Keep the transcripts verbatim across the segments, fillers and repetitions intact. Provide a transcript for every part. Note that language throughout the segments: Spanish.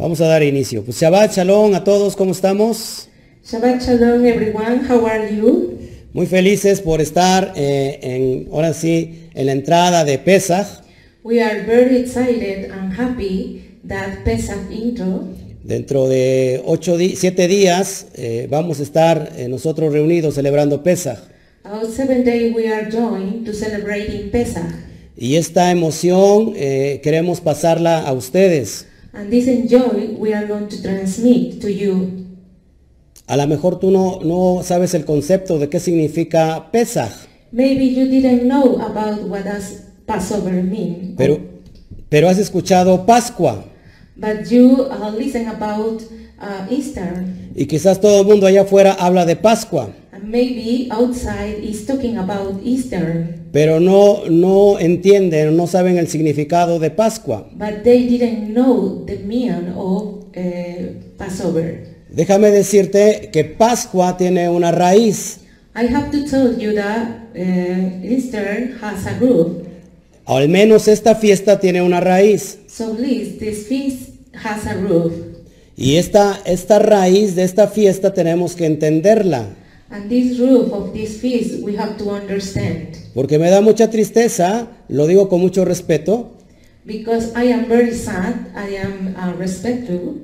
Vamos a dar inicio. Pues Shabbat Shalom a todos, ¿cómo estamos? Shabbat Shalom everyone, how are you? Muy felices por estar eh, en, ahora sí, en la entrada de Pesach. We are very excited and happy that Pesach intro. Dentro de ocho di- siete días eh, vamos a estar eh, nosotros reunidos celebrando Pesach. Our seventh day we are joined to celebrating Pesach. Y esta emoción eh, queremos pasarla a ustedes. And this enjoy we are going to transmit to you. A lo mejor tú no, no sabes el concepto de qué significa Pesach, Maybe you didn't know about what does Passover mean. pero, pero has escuchado Pascua. But you uh, listen about uh, Easter. Y quizás todo el mundo allá afuera habla de Pascua, And maybe outside is talking about Easter. pero no, no entienden, no saben el significado de Pascua. But they didn't know the meaning of uh, Passover. Déjame decirte que Pascua tiene una raíz. I have to tell you that uh, Easter has a root. Al menos esta fiesta tiene una raíz. So at least this feast has a root. Y esta, esta raíz de esta fiesta tenemos que entenderla. And this root of this feast we have to understand. Porque me da mucha tristeza, lo digo con mucho respeto, Because I am very sad, I am uh, respectful,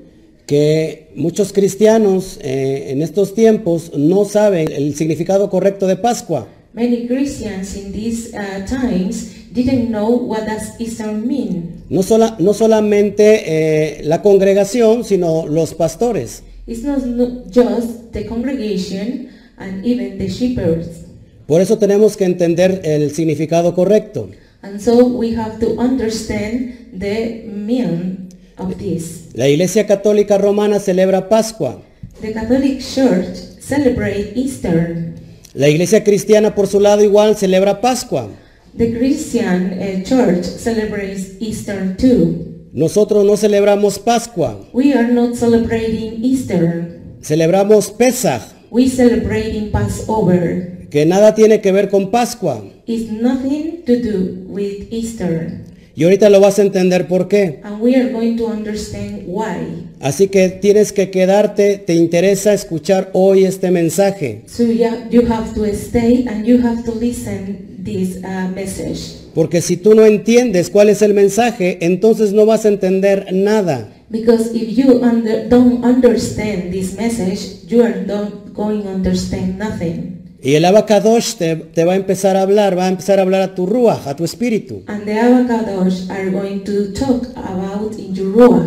que muchos cristianos eh, en estos tiempos no saben el significado correcto de Pascua. many Christians in these uh, times didn't know what does Easter mean. No, sola, no solamente eh, la congregación, sino los pastores. It's not no- just the congregation and even the shepherds. Por eso tenemos que entender el significado correcto. And so we have to understand the meaning of this. La Iglesia Católica Romana celebra Pascua. The Catholic Church celebrates Easter. La Iglesia Cristiana, por su lado, igual celebra Pascua. The Christian uh, Church celebrates Easter too. Nosotros no celebramos Pascua, We are not celebrating Easter. celebramos Pesach, We celebrating Passover. que nada tiene que ver con Pascua. It's nothing to do with Easter. Y ahorita lo vas a entender por qué. And we are going to understand why. Así que tienes que quedarte, te interesa escuchar hoy este mensaje. So yeah, you have to stay and you have to listen this uh, message. Porque si tú no entiendes cuál es el mensaje, entonces no vas a entender nada. Because if you under, don't understand this message, you are not going to understand nothing. Y el Abacadosh te, te va a empezar a hablar, va a empezar a hablar a tu ruach, a tu espíritu. And the avocados are going to talk about in your ruach,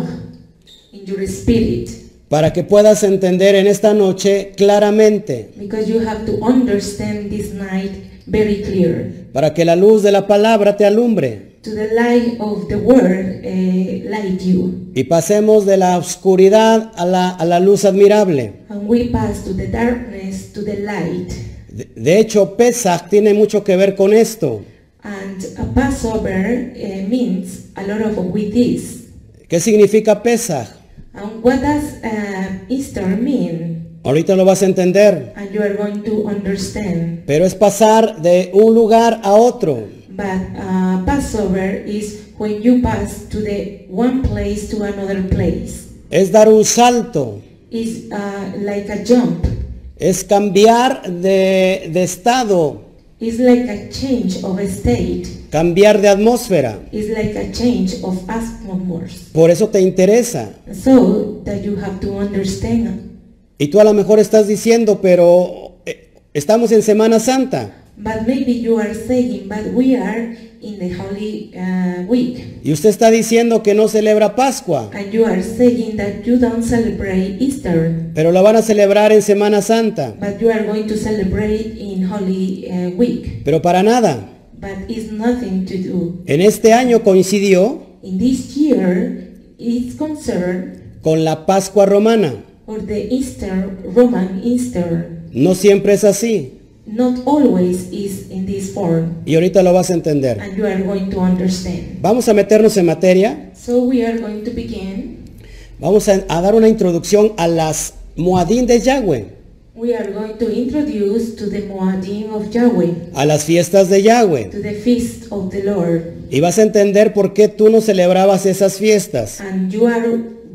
in your spirit. Para que puedas entender en esta noche claramente. Because you have to understand this night very clear. Para que la luz de la palabra te alumbre. To the light of the word uh, light you. Y pasemos de la oscuridad a la, a la luz admirable. And we pass to the darkness to the light. De, de hecho, Pesach tiene mucho que ver con esto. And a Passover uh, means a lot of with this. ¿Qué significa Pesach? And what does uh, Easter mean? Ahorita lo vas a entender. And you are going to understand. Pero es pasar de un lugar a otro. But uh, Passover is when you pass to the one place to another place. Es dar un salto. It's uh, like a jump. Es cambiar de, de estado. It's like a change of a state. Cambiar de atmósfera. It's like a change of atmosphere. Por eso te interesa. So that you have to understand. Y tú a lo mejor estás diciendo, pero eh, estamos en Semana Santa. But maybe you are saying, but we are in the Holy uh, Week. Y usted está diciendo que no celebra Pascua. And you are saying that you don't celebrate Easter. Pero lo van a celebrar en Semana Santa. But you are going to celebrate in Holy uh, Week. Pero para nada. But it's nothing to do. En este año coincidió In this year, it's concerned con la Pascua romana. for the Easter, Roman Easter. No siempre es así. Not always is in this form. Y ahorita lo vas a entender. And you are going to understand. Vamos a meternos en materia. So we are going to begin. Vamos a, a dar una introducción a las Moadim de Yahweh. We are going to introduce to the Moadim of Yahweh, A las fiestas de Yahweh. to the feast of the Lord. Y vas a entender por qué tú no celebrabas esas fiestas. And you are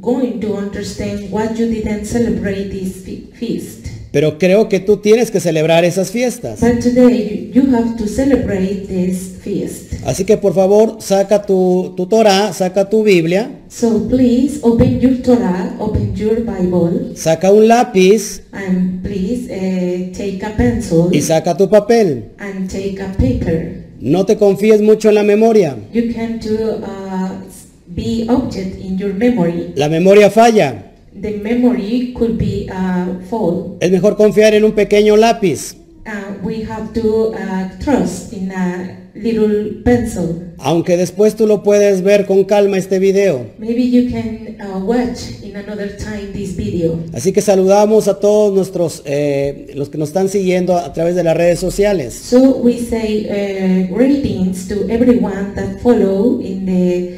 going to understand what you didn't celebrate this fe- feast. Pero creo que tú tienes que celebrar esas fiestas. But today you, you have to celebrate this feast. Así que por favor, saca tu, tu Torah, saca tu Biblia, So please open your Torah, open your Bible, saca un lápiz and please uh, take a pencil y saca tu papel. and take a paper. No te confíes mucho en la memoria. You can do uh, be object in your memory. La memoria falla. The memory could be uh, full. Es mejor confiar en un pequeño lápiz. Uh, we have to uh, trust in a little pencil. Aunque después tú lo puedes ver con calma este video. Maybe you can uh, watch in another time this video. Así que saludamos a todos nuestros, eh, los que nos están siguiendo a través de las redes sociales. So we say uh, greetings to everyone that follow in the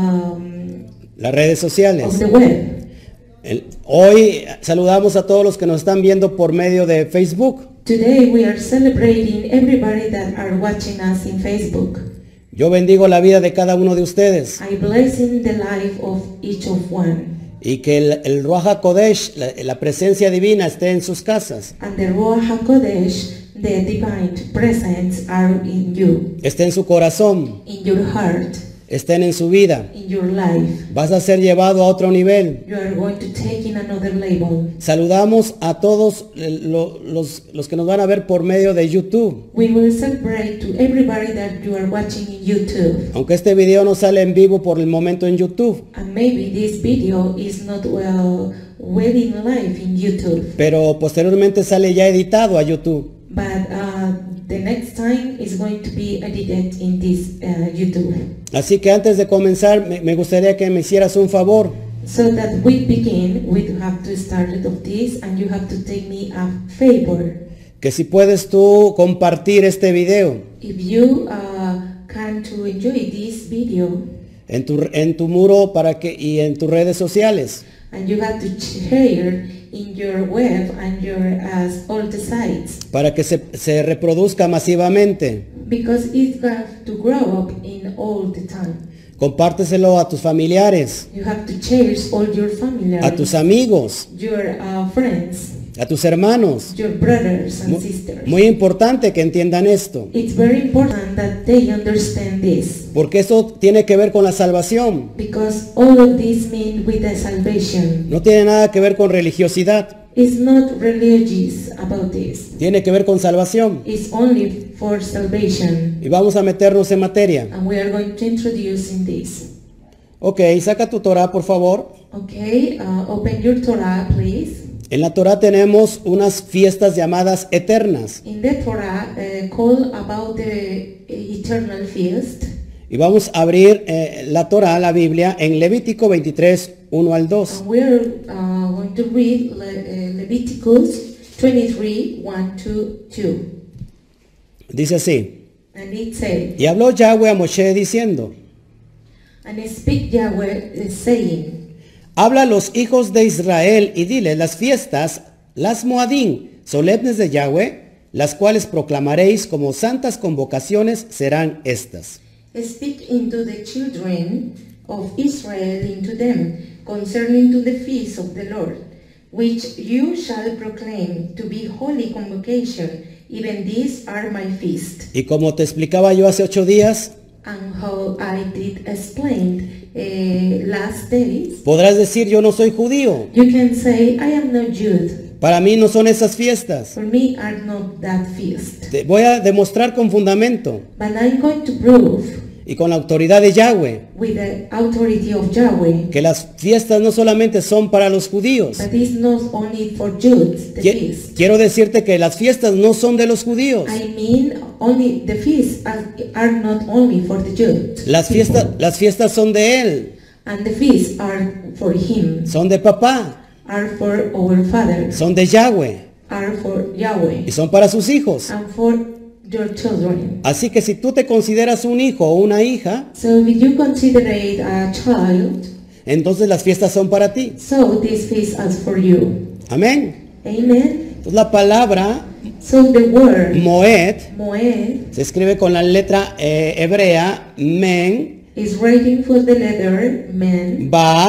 um, Las redes sociales. of the web. El- hoy saludamos a todos los que nos están viendo por medio de Facebook. Today we are celebrating everybody that are watching us in Facebook. Yo bendigo la vida de cada uno de ustedes. I bless in the life of each of one. Y que el, el Ruach HaKodesh, la, la presencia divina, esté en sus casas. And the Ruach HaKodesh, the divine presence are in you, Esté en su corazón. in your heart, Estén en su vida. in your life. Vas a ser llevado a otro nivel. You are going to take in another label. Saludamos a todos eh, lo- los, los que nos van a ver por medio de YouTube. We will celebrate to everybody that you are watching in YouTube. Aunque este video no sale en vivo por el momento en YouTube. And maybe this video is not well, well in live in YouTube. Pero posteriormente sale ya editado a YouTube. But uh, the next time is going to be edited in this uh, YouTube. Así que antes de comenzar, me, me gustaría que me hicieras un favor. So that we begin, we have to start of this, and you have to take me a favor. Que si puedes tú compartir este video If you uh, can to enjoy this video, en tu, en tu muro para que, y en tus redes sociales. and you have to share in your web and your as all the sites, Para que se, se reproduzca masivamente. because it has to grow up in all the time. Compárteselo a tus familiares, You have to share all your families, a tus amigos, your uh, friends, a tus hermanos. your brothers and Mu- sisters. Muy importante que entiendan esto, It's very important that they understand this, porque eso tiene que ver con la salvación. because all of this mean with the salvation. No tiene nada que ver con religiosidad, It's not religious about this. tiene que ver con salvación. It's only for salvation. Y vamos a meternos en materia. And we are going to introduce in this. Ok, saca tu Torah, por favor. Okay, uh, open your Torah, please. En la Torah tenemos unas fiestas llamadas eternas. In the Torah, uh, call about the eternal feast. Y vamos a abrir eh, la Torah, la Biblia, en Levítico veintitrés, uno al dos. And we are uh, going to read Le- uh, Leviticus twenty-three, one to two. Dice así: And it said, Y habló Yahweh a Moshe diciendo: and speak Yahweh, uh, saying, Habla a los hijos de Israel y dile: las fiestas, las Moadín, solemnes de Yahweh, las cuales proclamaréis como santas convocaciones, serán estas. Speak into the children of Israel into them concerning to the feast of the Lord, which you shall proclaim to be holy convocation. Even these are my feast. Y como te explicaba yo hace ocho días, And how I did explain uh, last days, podrás decir: yo no soy judío, you can say, I am not Jude. para mí no son esas fiestas. For me are not that feast. Te voy a demostrar con fundamento But I'm going to prove y con la autoridad de Yahweh with the authority of Yahweh que las fiestas no solamente son para los judíos. that it's not only for Jews, the Qui- feast. Quiero decirte que las fiestas no son de los judíos. I mean, only the feasts are, are not only for the Jews. Las fiestas, people. las fiestas son de Él, And the feasts are for Him, son de papá, are for our Father, son de Yahweh are for Yahweh, y son para sus hijos. and for your children. Así que si tú te consideras un hijo o una hija, So if you consider it a child, entonces las fiestas son para ti. so this feast is for you. Amén. Amen. Entonces la palabra So the word Moed Moed se escribe con la letra eh, hebrea Men, is writing for the letter men, Baab,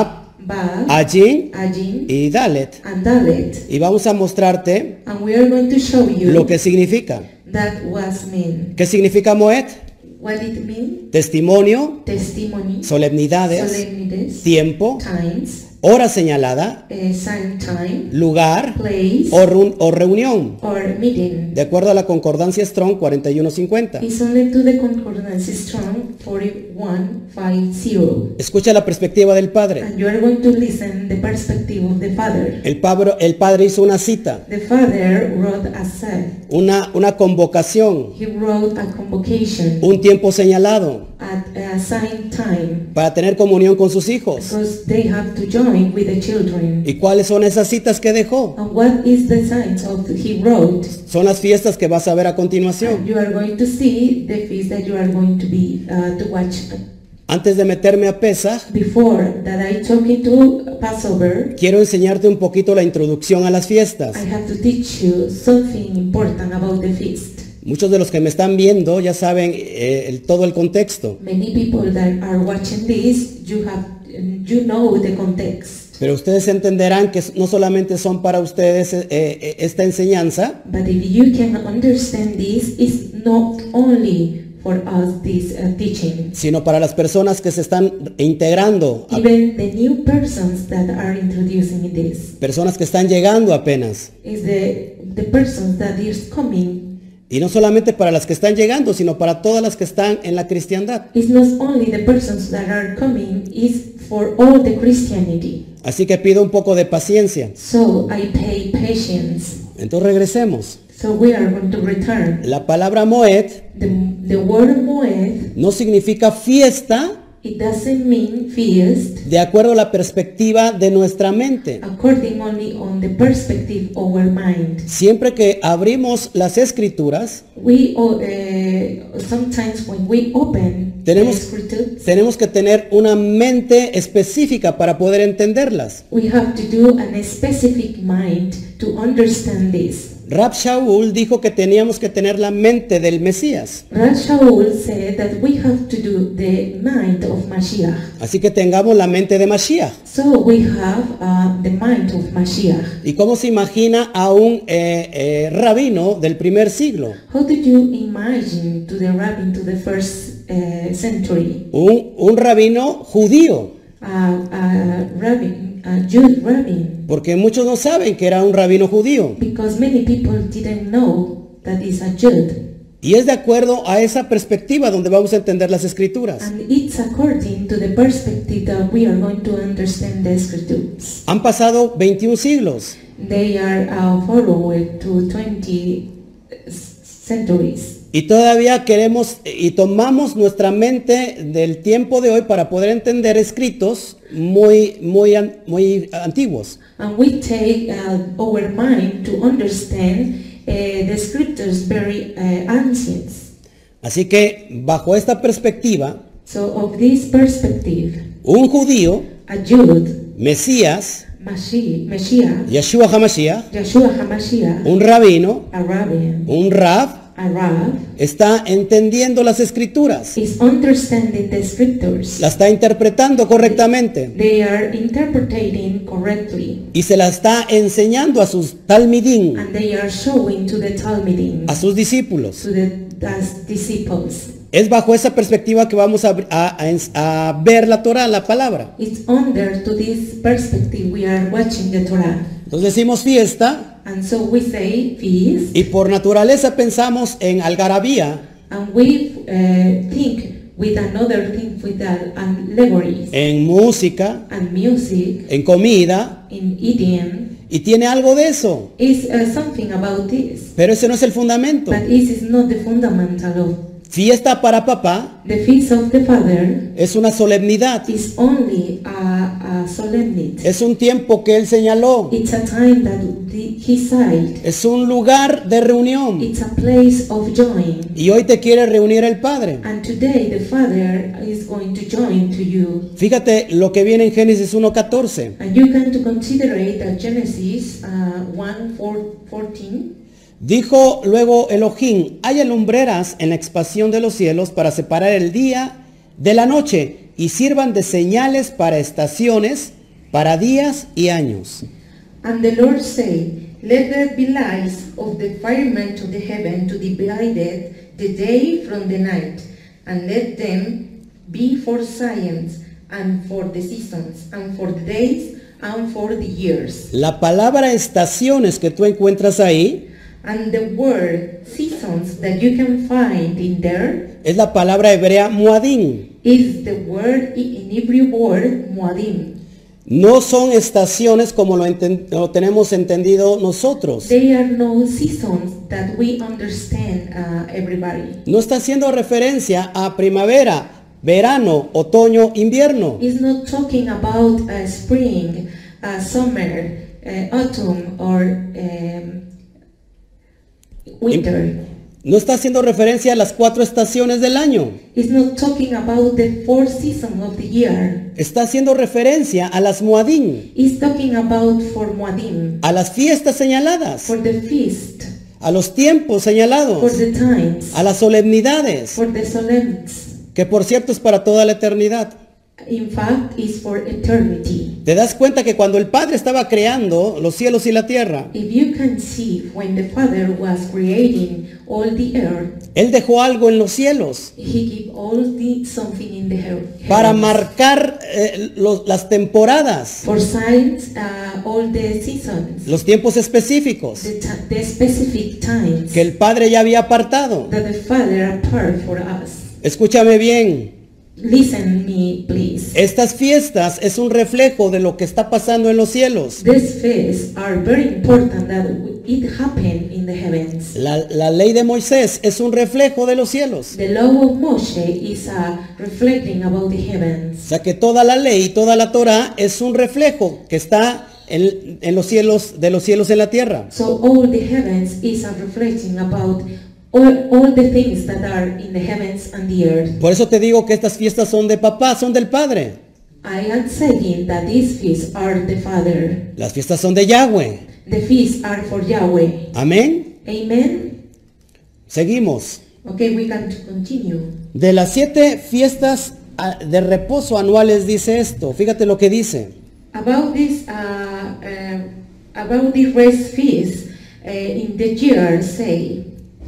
Vav, Ajin Ajin, y Dalet. and Dalet. Y vamos a mostrarte And we are going to show you lo que significa. that was mean. ¿Qué significa Moed? What it means? Testimonio, Testimony, solemnidades, solemnities, tiempo, times, hora señalada, uh, sign time, lugar place, o, run- o reunión. or meeting. De acuerdo a la concordancia Strong cuarenta y uno cincuenta. It's only to the concordance strong forty-one fifty. Escucha la perspectiva del Padre. And you are going to listen the perspective of the Father. El, pabro- el Padre hizo una cita, The Father wrote a set. una, una convocación, He wrote a convocation un tiempo señalado at a assigned time para tener comunión con sus hijos. because they have to join with the children. ¿Y cuáles son esas citas que dejó? And what is the signs of he wrote? Son las fiestas que vas a ver a continuación. You are going to see the feast that you are going to be uh, to watch. Antes de meterme a Pesach, Before that I talk into Passover, quiero enseñarte un poquito la introducción a las fiestas. I have to teach you something important about the feast. Muchos de los que me están viendo ya saben eh, el- todo el contexto, Many people that are watching this, you have, you know the context. pero ustedes entenderán que no solamente son para ustedes eh, eh, esta enseñanza, But if you can understand this, it's not only for us this uh, teaching. sino para las personas que se están integrando, a- Even the new persons that are introducing this personas que están llegando apenas. is the the persons that is coming. Y no solamente para las que están llegando, sino para todas las que están en la cristiandad. It's not only the persons that are coming, it's for all the Christianity. Así que pido un poco de paciencia. So I pay patience. Entonces regresemos. So we are going to return. La palabra Moed The, the word Moed, no significa fiesta it doesn't mean feast de acuerdo a la perspectiva de nuestra mente. according only on the perspective of our mind. Siempre que abrimos las escrituras, We uh, sometimes when we open Tenemos- the scriptures, tenemos que tener una mente específica para poder entenderlas. we have to do an specific mind to understand this. Rab Shaul dijo que teníamos que tener la mente del Mesías. Rav Shaul said that we have to do the mind of Mashiach. Así que tengamos la mente de Mashiach. So we have uh, the mind of Mashiach. ¿Y cómo se imagina a un eh, eh, rabino del primer siglo? How did you imagine to the rabbin to the first uh, century? Un, un rabino judío. Uh, a rabbin, a Jewish rabbin, Porque muchos no saben que era un rabino judío. because many people didn't know that is a Jude. Y es de acuerdo a esa perspectiva donde vamos a entender las escrituras. And it's according to the perspective that we are going to understand the scriptures. Han pasado veintiún siglos. They are uh, followed to twenty centuries. Y todavía queremos y tomamos nuestra mente del tiempo de hoy para poder entender escritos muy, muy, an- muy antiguos. And we take uh, our mind to understand uh, the scriptures very uh, ancient. Así que bajo esta perspectiva, So of this perspective, un judío, a Jude, Mesías, Mashi- Mashiach, Yeshua HaMashiach, Yeshua HaMashiach, un rabino, a rabbin, un rab, a Rav, está entendiendo las escrituras, is understanding the scriptures. la está interpretando correctamente They are interpreting correctly, y se la está enseñando a sus talmidim, and they are showing to the Talmudim, a sus discípulos. to the das disciples. Es bajo esa perspectiva que vamos a, a- a- a ver la Torah, la palabra. It's under to this perspective we are watching the Torah. Entonces decimos fiesta And so we say feast, y por naturaleza pensamos en algarabía, and we uh, think with another thing with that allegories en música, and music, en comida, in idiom. y tiene algo de eso, Is uh, something about this, pero ese no es el fundamento. but this is not the fundamental of Fiesta para papá the feast of the Father. es una solemnidad, Is only a, a solemnity. es un tiempo que él señaló, It's a time that the, he said. es un lugar de reunión. It's a place of join. Y hoy te quiere reunir el Padre. And today the Father is going to join to you. Fíjate lo que viene en Génesis uno catorce. And you can to consider it at Genesis uh, one fourteen. Dijo luego Elohim, haya lumbreras en la expansión de los cielos para separar el día de la noche y sirvan de señales para estaciones para días y años. And the Lord said, Let there be lights of the firmament of the heaven to divide the day from the night, and let them be for signs, and for the seasons, and for the days, and for the years. La palabra estaciones que tú encuentras ahí And the word seasons that you can find in there es la palabra hebrea muadín. is the word in Hebrew word muadim. No son estaciones como lo, enten- lo tenemos entendido nosotros. They are no seasons that we understand, uh, everybody. No está haciendo referencia a primavera, verano, otoño, invierno. It's not talking about uh, spring, uh, summer, uh, autumn, or um, winter. No está haciendo referencia a las cuatro estaciones del año. It's not talking about the four seasons of the year. Está haciendo referencia a las muadín, It's talking about for Muadim, a las fiestas señaladas, for the feast, a los tiempos for señalados, the times, a las solemnidades, for the solemns. que por cierto es para toda la eternidad. In fact, it's for eternity. Te das cuenta que cuando el Padre estaba creando los cielos y la tierra, If you can see, when the Father was creating all the earth, Él dejó algo en los cielos He gave all the something in the heaven para marcar eh, los- las temporadas, for signs, uh, all the seasons, los tiempos específicos the, ti- the specific times que el Padre ya había apartado. that the Father apart for us. Escúchame bien, Listen me, please. estas fiestas es un reflejo de lo que está pasando en los cielos. These feasts are very important that it happened in the heavens. La, la ley de Moisés es un reflejo de los cielos. The law of Moshe is uh, reflecting about the O heavens. sea que toda la ley y toda la Torah es un reflejo que está en, en los cielos, de los cielos en la tierra. So all the heavens is a reflecting about all, all the things that are in the heavens and the earth. Por eso te digo que estas fiestas son de papá, son del Padre. I am saying that these feasts are the Father. Las fiestas son de Yahweh. The feasts are for Yahweh. Amén. Amen. Seguimos. Okay, we can continue. De las siete fiestas ah, de reposo anuales dice esto. Fíjate lo que dice. About this, uh, uh, about the rest feast uh, in the year, say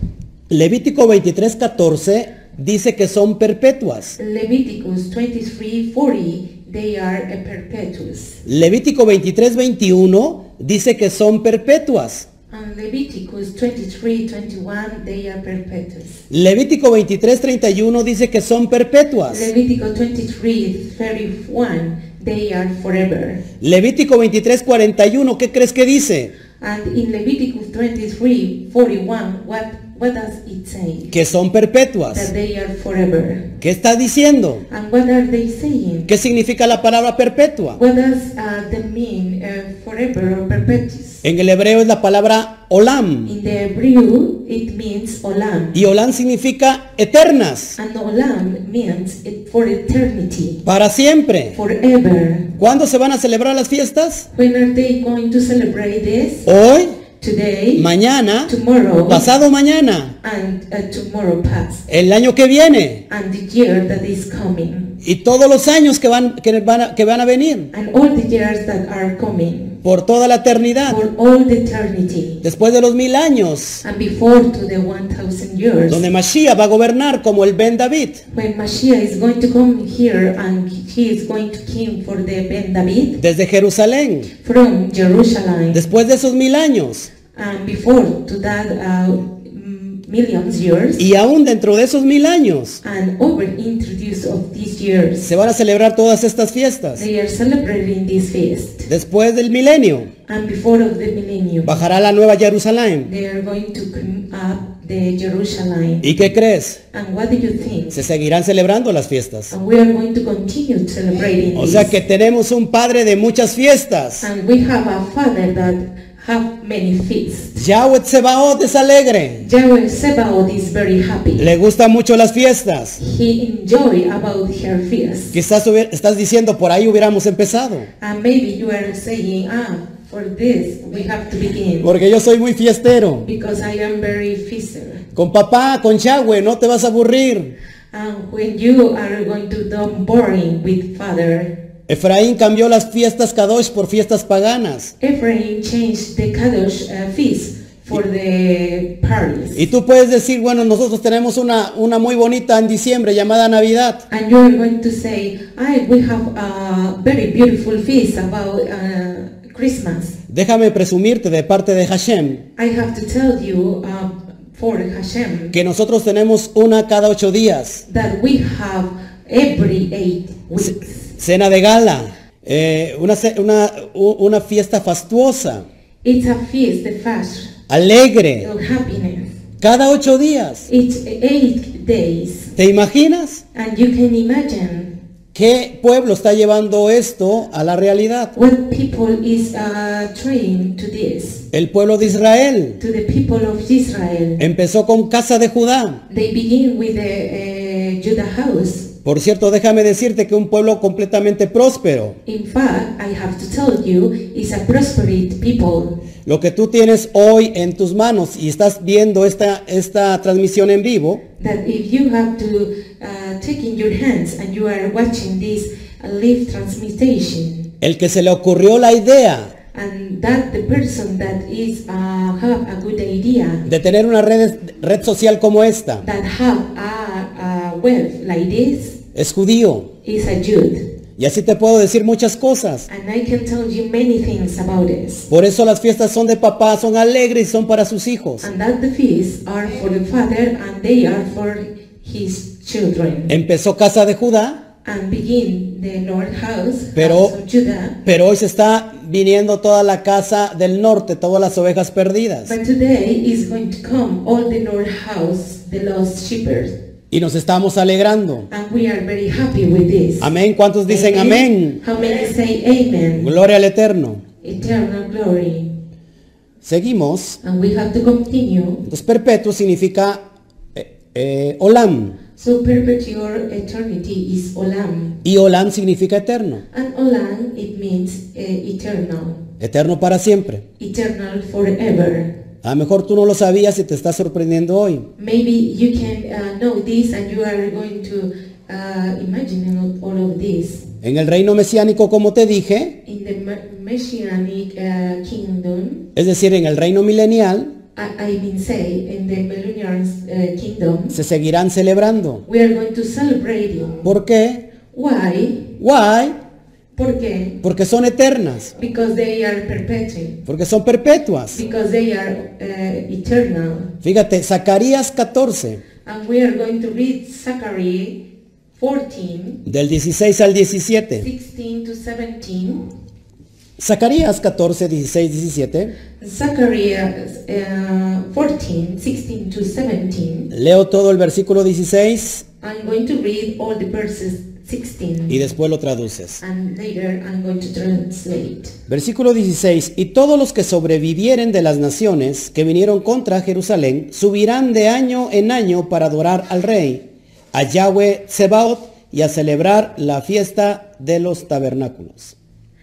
Levítico veintitrés catorce dice que son perpetuas. Leviticus twenty-three forty, they are a perpetuous. Levítico veintitrés veintiuno dice que son perpetuas. And Leviticus twenty-three twenty-one, they are perpetuous. Levítico veintitrés treinta y uno dice que son perpetuas. Leviticus twenty-three thirty-one, they are forever. Levítico veintitrés cuarenta y uno, ¿qué crees que dice? And in Leviticus twenty-three forty-one, what, what does it say? Que son perpetuas. That they are forever. ¿Qué está diciendo? And what are they saying? ¿Qué significa la palabra perpetua? What does uh, the mean uh, forever or perpetuous? En el hebreo es la palabra olam. In the Hebrew, it means olam. Y olam significa eternas, And olam means it for eternity, para siempre. forever. ¿Cuándo se van a celebrar las fiestas? When are they going to celebrate this? Hoy, Today, mañana, tomorrow, pasado mañana, and uh, tomorrow past, el año que viene and the year that is coming, y todos los años que van, que van, a, que van a venir and all the years that are coming, por toda la eternidad. for all the eternity, Después de los mil años, and before to the one thousand years, donde Mashiach va a gobernar como el Ben David. when Mashiach is going to come here and he is going to king for the Ben David Desde Jerusalén. from Jerusalem, Después de esos mil años. and before to that uh, m- millions years, Y aún dentro de esos mil años and over introduced of these years, se van a celebrar todas estas fiestas. they are celebrating this feast. Después del milenio And before of the millennium, bajará la nueva Jerusalén. they are going to come up the Jerusalem. ¿Y qué crees? And what do you think? Se seguirán celebrando las fiestas. And we are going to continue celebrating O sea this. que tenemos un Padre de muchas fiestas. And we have a Father that have many feasts. Yahweh Tsebaot es alegre. Yahweh Sebaot is very happy. Le gustan mucho las fiestas. He enjoy about her feast. Quizás hubiera- estás diciendo, por ahí hubiéramos empezado. And maybe you are saying, ah, for this we have to begin. Porque yo soy muy fiestero. Because I am very feaster. Con papá, con Yahweh, no te vas a aburrir. And when you are going to do boring with Father, Efraín cambió las fiestas Kadosh por fiestas paganas. Ephraim changed the Kadosh uh, feast for the parties. Y tú puedes decir, bueno, nosotros tenemos una, una muy bonita en diciembre llamada Navidad. And you're going to say, I, we have a very beautiful feast about uh, Christmas. Déjame presumirte de parte de Hashem I have to tell you uh, for Hashem que nosotros tenemos una cada ocho días. that we have every eight weeks. Cena de gala, eh, una, ce- una, u- una fiesta fastuosa, It's a feast, the fast alegre, of happiness. cada ocho días. It's eight days. ¿Te imaginas? And you can imagine ¿Qué pueblo está llevando esto a la realidad? what people is uh, trained to this. El pueblo de Israel. To the people of Israel. Empezó con casa de Judá. They begin with the uh, Judah house. Por cierto, déjame decirte que un pueblo completamente próspero. In fact, I have to tell you, it's a prosperous people. Lo que tú tienes hoy en tus manos y estás viendo esta, esta transmisión en vivo, That if you have to uh, take in your hands and you are watching this uh, live transmission, el que se le ocurrió la idea and that the person that is uh, have a good idea, de tener una red, red social como esta, that have a, a wealth like this, es judío. is a Jude. Y así te puedo decir muchas cosas. And I can tell you many things about this. Por eso las fiestas son de papá, son alegres y son para sus hijos. And that the feasts are for the father and they are for his children. Empezó casa de Judá, And begin the north house, Pero- house of Judah. pero hoy se está viniendo toda la casa del norte, todas las ovejas perdidas. But today is going to come all the north house, the lost shepherds. Y nos estamos alegrando. And we are very happy with this. Amén. ¿Cuántos dicen amén? How many say amen? Gloria al Eterno. Eternal glory. Seguimos. And we have to continue. Entonces, perpetuo significa eh, eh, olam. So perpetual eternity is olam. Y olam significa eterno. And olam, it means uh, eternal. Eterno para siempre. Eternal forever. A lo mejor tú no lo sabías y te estás sorprendiendo hoy. Maybe you can uh, know this and you are going to uh, imagine all of this. En el reino mesiánico, como te dije, In the me- Messianic uh, kingdom, es decir, en el reino milenial, I, I mean say, in the millennial uh, kingdom, se seguirán celebrando. we are going to celebrate you. ¿Por qué? Why? Why? ¿Por qué? Porque son eternas, Because they are perpetual. porque son perpetuas. Because they are uh, eternal. Fíjate, Zacarías catorce, And we are going to read Zechariah fourteen, del dieciséis al diecisiete. sixteen to seventeen. Zacarías catorce, dieciséis, diecisiete. Zechariah uh, fourteen, sixteen to seventeen. Leo todo el versículo dieciséis I'm going to read all the verses sixteen. y después lo traduces. And later I'm going to translate. Versículo dieciséis. Y todos los que sobrevivieren de las naciones que vinieron contra Jerusalén subirán de año en año para adorar al rey, a Yahweh Tsebaot, y a celebrar la fiesta de los tabernáculos.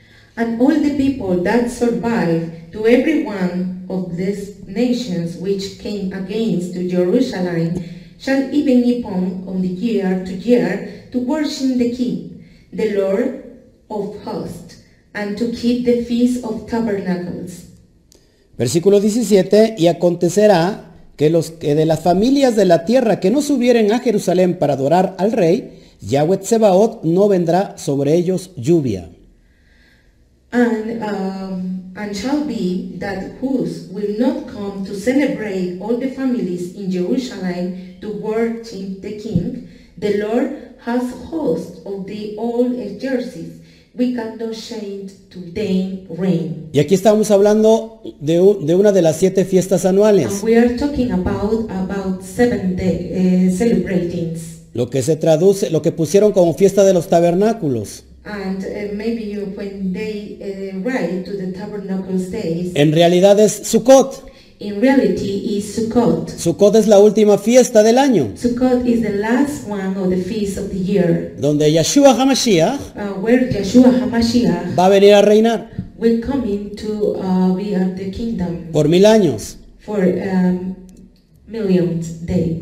And all the people that survive, to every one of these nations which came against to Jerusalem, shall even upon on the year to year to worship the King, the Lord of hosts, and to keep the feast of tabernacles. Versículo diecisiete. Y acontecerá que los que de las familias de la tierra que no subieren a Jerusalén para adorar al rey, Yahweh Tsebaot no vendrá sobre ellos lluvia. And um, and shall be that whose will not come to celebrate all the families in Jerusalem to worship the King, the Lord has host of the all jerseys, we cannot change to them rain. Y aquí estamos hablando de, un- de una de las siete fiestas anuales, And we are talking about about seven day uh, celebratings. lo que se traduce, lo que pusieron como fiesta de los tabernáculos. And uh, maybe you, when they uh, write to the tabernacle days, En realidad es Sukkot. in reality is Sukkot. Sukkot es la última fiesta del año, Sukkot is the last one of the feast of the year, donde Yeshua HaMashiach uh, where Yeshua HaMashiach va a venir a reinar will come in to uh, be at the kingdom por mil años. for um, millions days.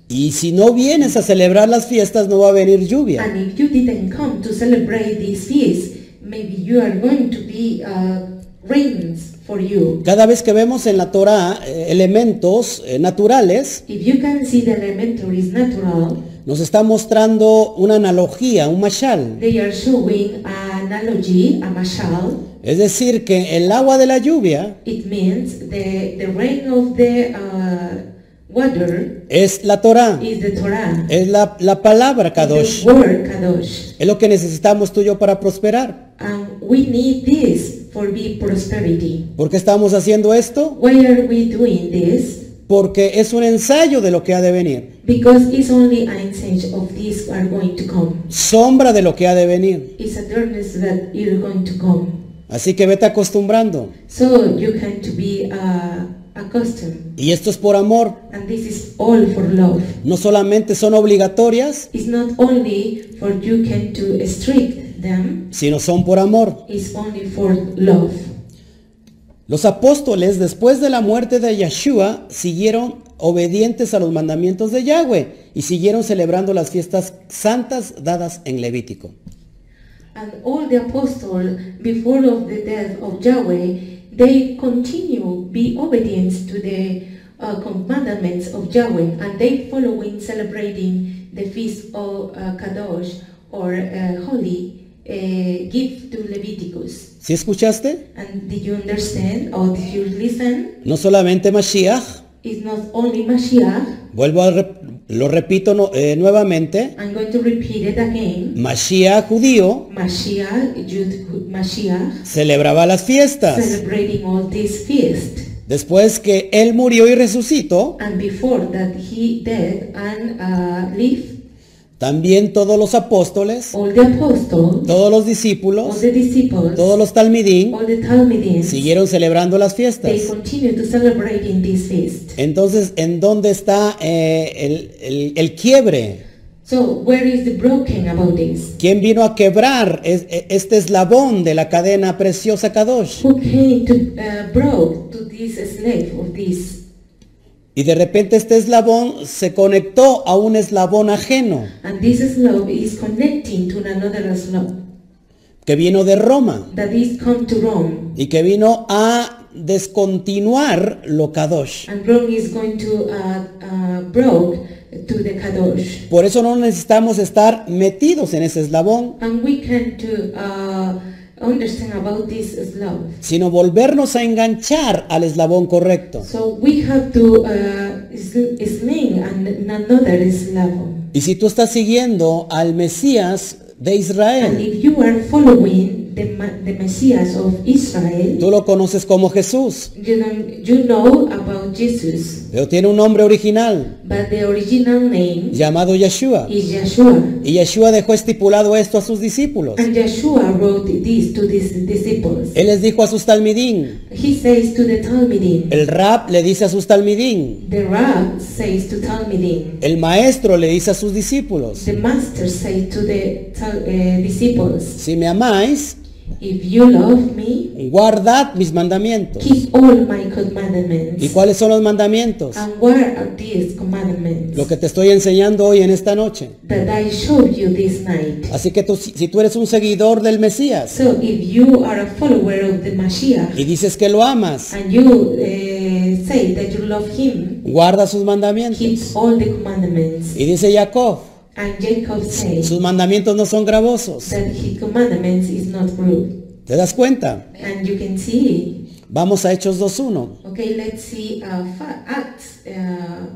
Y si no vienes a celebrar las fiestas, no va a venir lluvia. And if you didn't come to celebrate this feast, maybe you are going to be uh, rains for you. Cada vez que vemos en la Torá eh, elementos eh, naturales, If you can see the elementary is natural, nos está mostrando una analogía, un mashal. they are showing an analogy, a mashal. Es decir, que el agua de la lluvia It means the, the rain of the uh, water es la Torá, is the Torah. es la, la palabra Is Kadosh. the word Kadosh. Es lo que necesitamos tú y yo para prosperar. And we need this for be prosperity. ¿Por qué estamos haciendo esto? Why are we doing this? Porque es un ensayo de lo que ha de venir, Because it's only an instance of this are going to come. sombra de lo que ha de venir. It's a darkness that you're going to come. Así que vete acostumbrando. So you can to be uh, accustomed. Y esto es por amor. And this is all for love. No solamente son obligatorias, It's not only for you can to strict them. sino son por amor. It's only for love. Los apóstoles, después de la muerte de Yeshua, siguieron obedientes a los mandamientos de Yahweh y siguieron celebrando las fiestas santas dadas en Levítico. And all the apostles, before of the death of Yahweh, they continue be obedience to the uh, commandments of Yahweh, and they following celebrating the feast of uh, Kadosh or uh, Holy uh, gift to Leviticus. ¿Sí escuchaste? And did you understand or did you listen? No solamente Mashiach, It's not only Mashiach. vuelvo a rep- lo repito no- eh, nuevamente, I'm going to repeat it again. Mashiach judío Mashiach, Jude, Mashiach, celebraba las fiestas. celebrating all this feast. Después que él murió y resucitó, And before that he died and uh, lived, también todos los apóstoles, all the apostles, todos los all discípulos, the disciples, todos los talmidín all the Talmudians, siguieron celebrando las they fiestas. continue to celebrate in this feast. Entonces, ¿en dónde está eh, el, el- el quiebre? So where is the broken about this? ¿Quién vino a quebrar es- e- este eslabón de la cadena preciosa Kadosh? Who came to uh, broke to this slave of this? Y de repente este eslabón se conectó a un eslabón ajeno And this slave is connecting to another slave que vino de Roma that is come to Rome. y que vino a descontinuar lo Kadosh. And Rome is going to uh, uh, broke to the Kadosh. Por eso no necesitamos estar metidos en ese eslabón, And we can to uh, understand about this slave. sino volvernos a enganchar al eslabón correcto. So we have to uh, sl- sling and another slave. Y si tú estás siguiendo al Mesías de And Israel, if you are following the, Ma- the Messiah of Israel, tú lo conoces como Jesús, you, don't, you know about Jesus, pero tiene un nombre original but the original name llamado Yeshua. is Yeshua. Y Yeshua dejó estipulado esto a sus discípulos. And Yeshua wrote this to his disciples. Él les dijo a sus talmidín, He says to the Talmudim, el rab le dice a sus talmidín, the Rab says to Talmudim, el maestro le dice a sus discípulos, the Master says to the tal- uh, disciples, si me amáis, if you love me, guardad mis mandamientos. keep all my commandments. ¿Y cuáles son los mandamientos? And what are these commandments Lo que te estoy enseñando hoy en esta noche. that I showed you this night? Así que tú, si si tú eres un seguidor del Mesías So if you are a follower of the Mashiach y dices que lo amas, and you uh, say that you love him, guarda sus mandamientos. keep all the commandments. Y dice Jacob, And Jacob says sus mandamientos no son gravosos. that his commandments is not rude. ¿Te das cuenta? And you can see, Vamos a Hechos dos uno. okay, let's see uh, fa- Acts uh,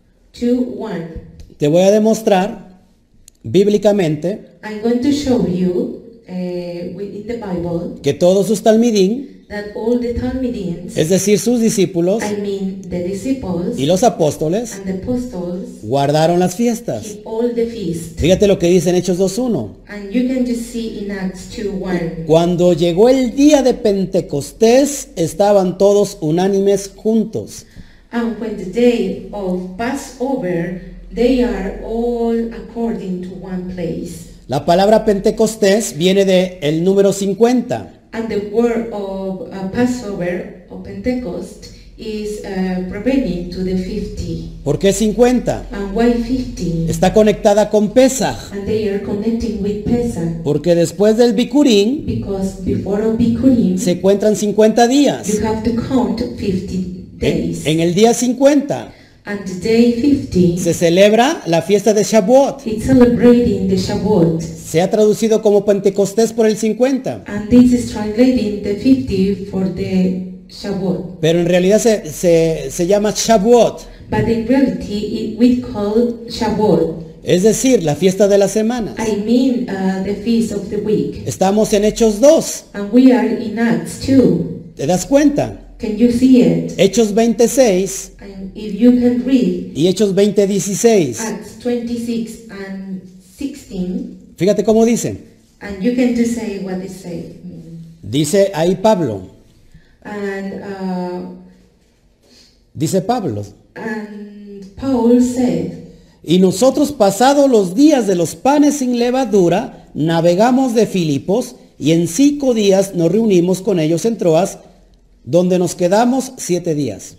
two one. Te voy a demostrar bíblicamente I'm going to show you uh, within the Bible que todos sus talmidín, that all the Talmudians, es decir, sus discípulos I mean the disciples y los apóstoles, and the apostles, guardaron las fiestas. keep all the feast. Fíjate lo que dice en Hechos dos uno. And you can just see in Acts two one. Cuando llegó el día de Pentecostés, estaban todos unánimes juntos. And when the day of Passover, they are all according to one place. La palabra Pentecostés viene de el número cincuenta. And the word of uh, Passover or Pentecost is uh, prevailing to the fifty. ¿Por qué cincuenta? And why fifty? Está conectada con Pesaj, And they are connecting with Pesach. porque después del Bikurim Because before of Bikurim, se encuentran cincuenta días. you have to count fifty En, days. en el día cincuenta And the day fifty, se celebra la fiesta de Shavuot. it's celebrating the Shavuot. Se ha traducido como Pentecostés por el cincuenta, And this is translating the fifty for the Shavuot. pero en realidad se, se, se llama Shavuot, But in reality, it, we call Shavuot. es decir, la fiesta de las semanas. I mean uh, the feast of the week. Estamos en Hechos dos, And we are in Acts two. ¿te das cuenta? Can you see it? Hechos veintiséis And if you can read y Hechos veinte dieciséis. Acts twenty-six and sixteen, Fíjate cómo dice. and you can just say what it say. Dice ahí Pablo, And uh, dice Pablo, and Paul said, y nosotros pasados los días de los panes sin levadura, navegamos de Filipos y en cinco días nos reunimos con ellos en Troas, donde nos quedamos siete días.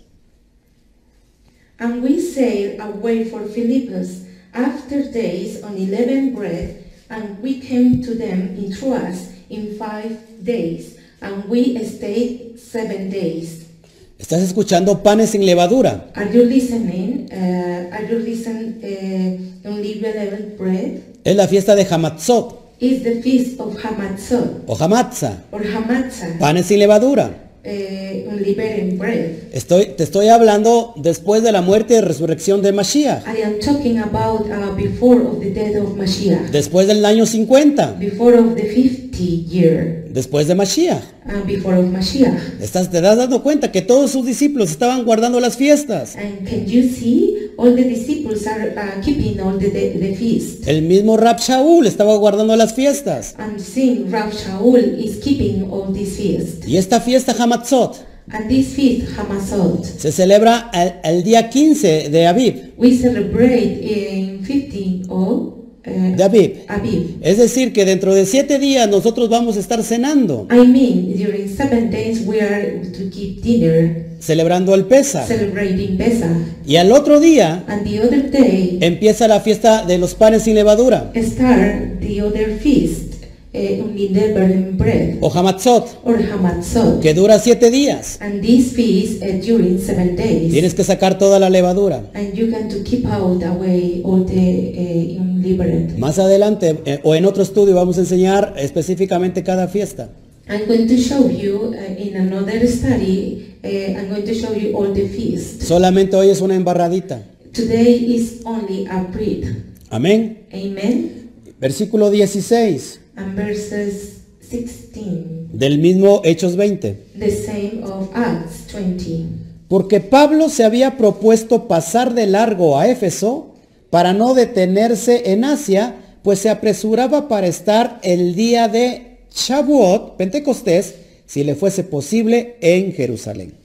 and we sailed away for Philippus after days on eleven bread, and we came to them in Troas in five days, and we stayed seven days. ¿Estás escuchando panes sin levadura? Are you listening? Uh, are you listening? Uh, unleavened bread Es la fiesta de Hamatzot is the feast of Hamatzot o Hamatza, or Hamatzah, panes sin levadura. uh, unleavened bread. Estoy, te estoy hablando después de la muerte y resurrección de Mashiach, I am talking about uh, before of the death of Mashiach, después del año cincuenta, before of the fifty year, después de Mashiach. uh, before of Mashiach. Estás, te das dando cuenta que todos sus discípulos estaban guardando las fiestas. And can you see all the disciples are uh, keeping all the, the, the feast? El mismo Rab Shaul estaba guardando las fiestas. And seeing Rav Shaul is keeping all these feasts. Y esta fiesta Hamatzot And this feast, Hamatzot, se celebra el, el día quince de Aviv, we celebrate in fifteen of uh, de Aviv. Aviv. Es decir, que dentro de siete días nosotros vamos a estar cenando, I mean, during seven days we are to keep dinner, celebrando el Pesach. celebrating Pesach. Y al otro día And the other day, empieza la fiesta de los panes sin levadura, start the other feast, uh, unleavened bread, o Hamatzot, or Hamatzot. que dura siete días. And this feast uh, during seven days. Tienes que sacar toda la levadura. And you can to keep out away all the uh, unleavened. Más adelante eh, o en otro estudio vamos a enseñar específicamente cada fiesta. I'm going to show you uh, in another study, uh, I'm going to show you all the feasts. Solamente hoy es una embarradita. Today is only a bread. Amén. Amen. Versículo dieciséis And verses sixteen, del mismo Hechos veinte. the same of Acts twenty. Porque Pablo se había propuesto pasar de largo a Éfeso para no detenerse en Asia, pues se apresuraba para estar el día de Shavuot, Pentecostés, si le fuese posible, en Jerusalén.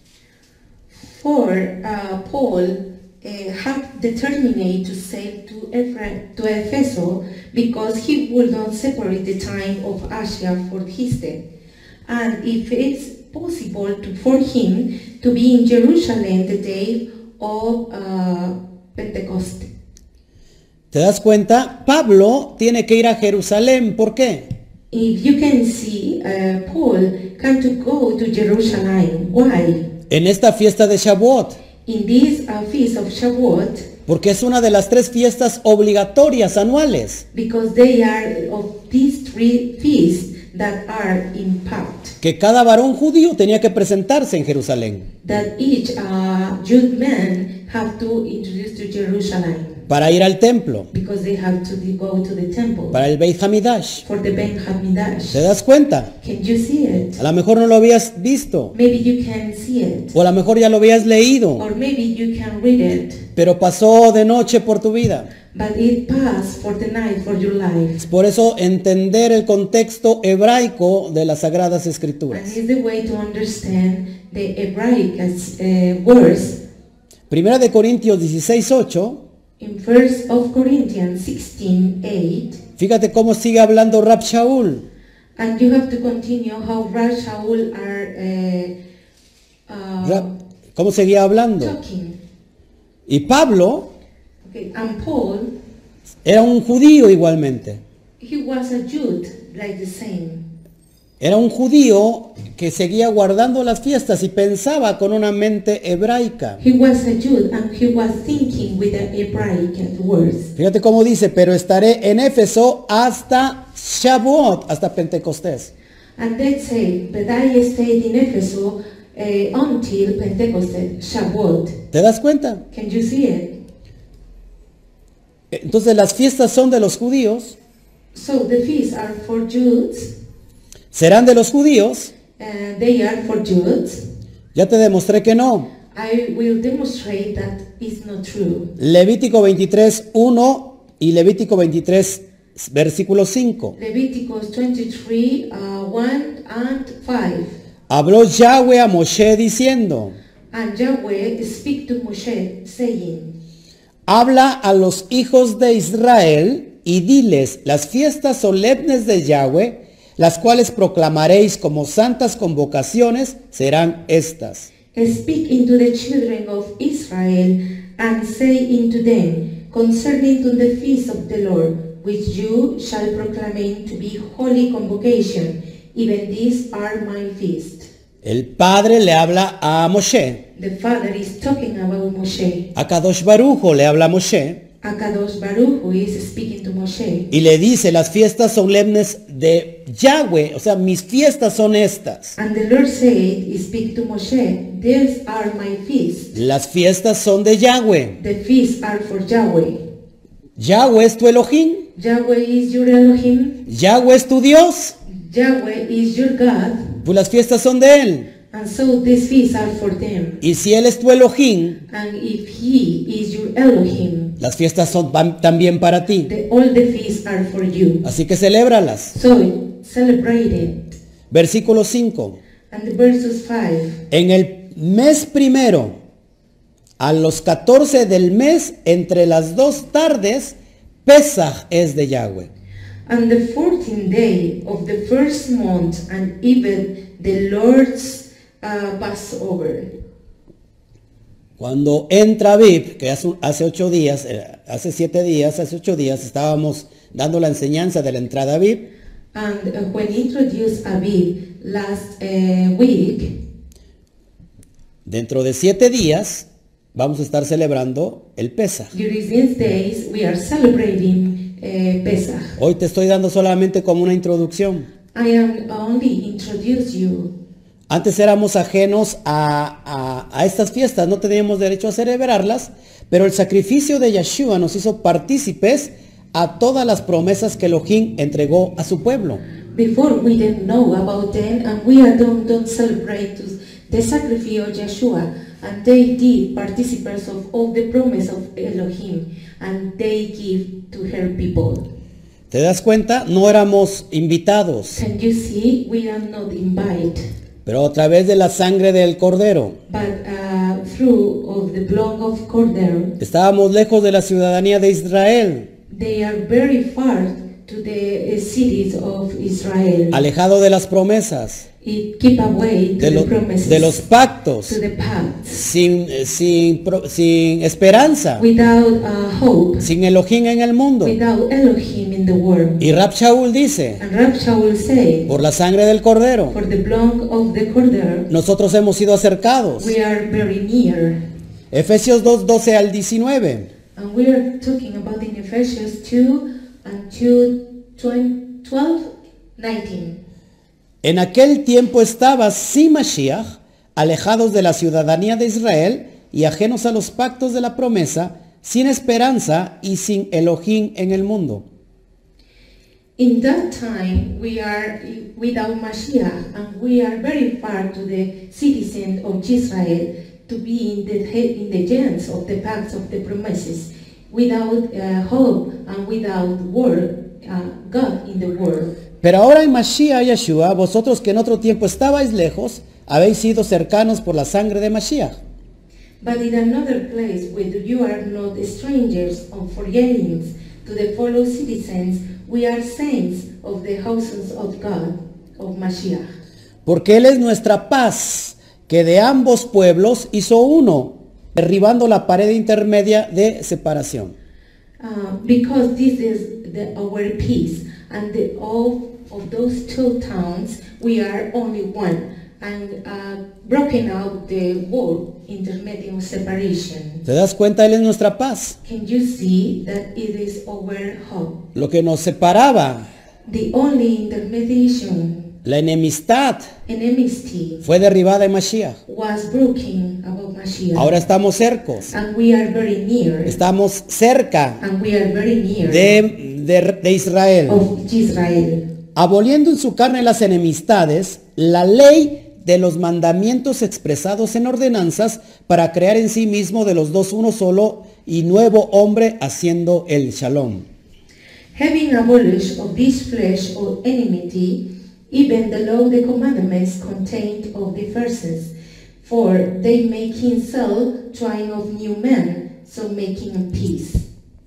For uh, Paul uh, had determined to sail to, Eph- to Ephesus because he would not separate the time of Asia for his death. And if it's possible to, for him to be in Jerusalem the day of uh, Pentecost. ¿Te das cuenta? Pablo tiene que ir a Jerusalén. ¿Por qué? If you can see, uh, Paul can to go to Jerusalem. Why? En esta fiesta de Shavuot. In this uh, feast of Shavuot, Porque es una de las tres fiestas obligatorias anuales because they are of these three feasts that are in pact, que cada varón judío tenía que presentarse en Jerusalén that each uh, Jude man have to introduce to Jerusalem, para ir al templo, because they have to be- go to the temple para el Beit Hamidash. for the Ben Hamidash. ¿Te das cuenta? Can you see it? A lo mejor no lo habías visto Maybe you can see it, o a lo mejor ya lo habías leído, or maybe you can read it, pero pasó de noche por tu vida. but it passed for the night for your life. Por eso entender el contexto hebraico de las Sagradas And Escrituras. it's the way to understand the Hebraic uh, words. Primera de Corintios dieciséis ocho. In First of Corinthians sixteen eight, Fíjate cómo sigue hablando Rab Shaul. and you have to continue how Rav Shaul are uh, uh, Rab- ¿Cómo seguía hablando? talking. Y Pablo Okay, and Paul, era un judío igualmente. he was a Jude, like the same. Era un judío que seguía guardando las fiestas y pensaba con una mente hebraica. He was a Jude and he was thinking with the Hebraic words. Fíjate cómo dice, pero estaré en Éfeso hasta Shavuot, hasta Pentecostés. And they say, but I stayed in Ephesus uh, until Pentecost, Shavuot. ¿Te das cuenta? Can you see it? Entonces las fiestas son de los judíos, So the feasts are for Jews, serán de los judíos. uh, they are for Jews. Ya te demostré que no. I will demonstrate that is not true. Levítico veintitrés, uno y Levítico veintitrés, versículo cinco. Leviticus twenty-three, uh, one and five. Habló Yahweh a Moshe diciendo, And Yahweh speak to Moshe, saying, habla a los hijos de Israel y diles, las fiestas solemnes de Yahweh, las cuales proclamaréis como santas convocaciones, serán estas. Speak into the children of Israel, and say unto them, concerning to the feast of the Lord, which you shall proclaim to be holy convocation, even these are my feast. El Padre le habla a Moshe. The Father is talking about Moshe. A Kadosh Barujo le habla a Moshe. Akadosh Baruch who is speaking to Moshe. Y le dice, las fiestas solemnes de Yahweh, o sea, mis fiestas son estas. And the Lord said, speak to Moshe, these are my feasts. Las fiestas son de Yahweh. The feasts are for Yahweh. Yahweh es tu Elohim. Yahweh is your Elohim. Yahweh es tu Dios. Yahweh is your God. Pues las fiestas son de Él. And so these feasts are for them. Y si Él es tu Elohim, And if He is your Elohim, las fiestas son van también para ti. the, all the feasts are for you. Así que celébralas. So celebrate it. Versículo cinco. And the verses five. En el mes primero, a los catorce del mes, entre las dos tardes, Pesaj es de Yahweh. On the fourteenth day of the first month, and even the Lord's uh, Passover. Cuando entra Aviv, que hace, hace ocho días, eh, hace siete días, hace ocho días, estábamos dando la enseñanza de la entrada a Aviv. And uh, when introduced Aviv last uh, week, Dentro de siete días vamos a estar celebrando el Pesaj. during these days we are celebrating uh, Pesach. Hoy te estoy dando solamente como una introducción. I am only introduce you. Antes éramos ajenos a, a, a estas fiestas, no teníamos derecho a celebrarlas, pero el sacrificio de Yeshua nos hizo partícipes a todas las promesas que Elohim entregó a su pueblo. Before we didn't know about them, and we are don't, don't celebrate to the sacrifice of Yeshua, and they did participants of all the promise of Elohim, and they give to her people. ¿Te das cuenta? No éramos invitados, Can you see? We are not invited, pero a través de la sangre del Cordero. but uh, through of the blood of Cordero, Estábamos lejos de la ciudadanía de Israel, they are very far to the uh, cities of Israel. alejado de las promesas, It keep away to de, the lo- promises, de los pactos, to the paths, sin, eh, sin, pro- sin esperanza, without uh, hope, sin Elohim en el mundo. without Elohim in the world. Y Rab Shaul dice, And Rab Shaul say, por la sangre del Cordero, for the blood of the Cordero, nosotros hemos sido acercados. we are very near. Efesios dos, doce al diecinueve. And we are talking about in Ephesians two and two, twelve, nineteen. En aquel tiempo estaba sin Mashiach, alejados de la ciudadanía de Israel y ajenos a los pactos de la promesa, sin esperanza y sin Elohim en el mundo. In that time, we are without Mashiach, and we are very far to the citizen of Israel to be in the in the hands of the pacts of the promises, without uh, hope and without word, uh, God in the world. Pero ahora en Mashiach Yeshua, vosotros que en otro tiempo estabais lejos, habéis sido cercanos por la sangre de Mashiach. But in another place where you are not strangers or foreigners to the fellow citizens, we are saints of the houses of God, of Mashiach. Porque Él es nuestra paz, que de ambos pueblos hizo uno, derribando la pared intermedia de separación. Uh, because this is the, our peace, and the, all of those two towns, we are only one, and uh, broken out the wall intermediate separation. ¿Te das cuenta? Él es nuestra paz. Can you see that it is our hope? Lo que nos separaba, The only intermediation, la enemistad, enmity, fue derribada en Mashiach. was broken about Mashiach. Ahora estamos cercos. And we are very near, Estamos cerca and we are very near de, de, de Israel. of Israel. Aboliendo en su carne las enemistades, la ley de los mandamientos expresados en ordenanzas para crear en sí mismo de los dos uno solo y nuevo hombre, haciendo el shalom. Having abolished of this flesh of enmity, even the law, the commandments contained of the verses, for they make himself trying of new men, so making a peace.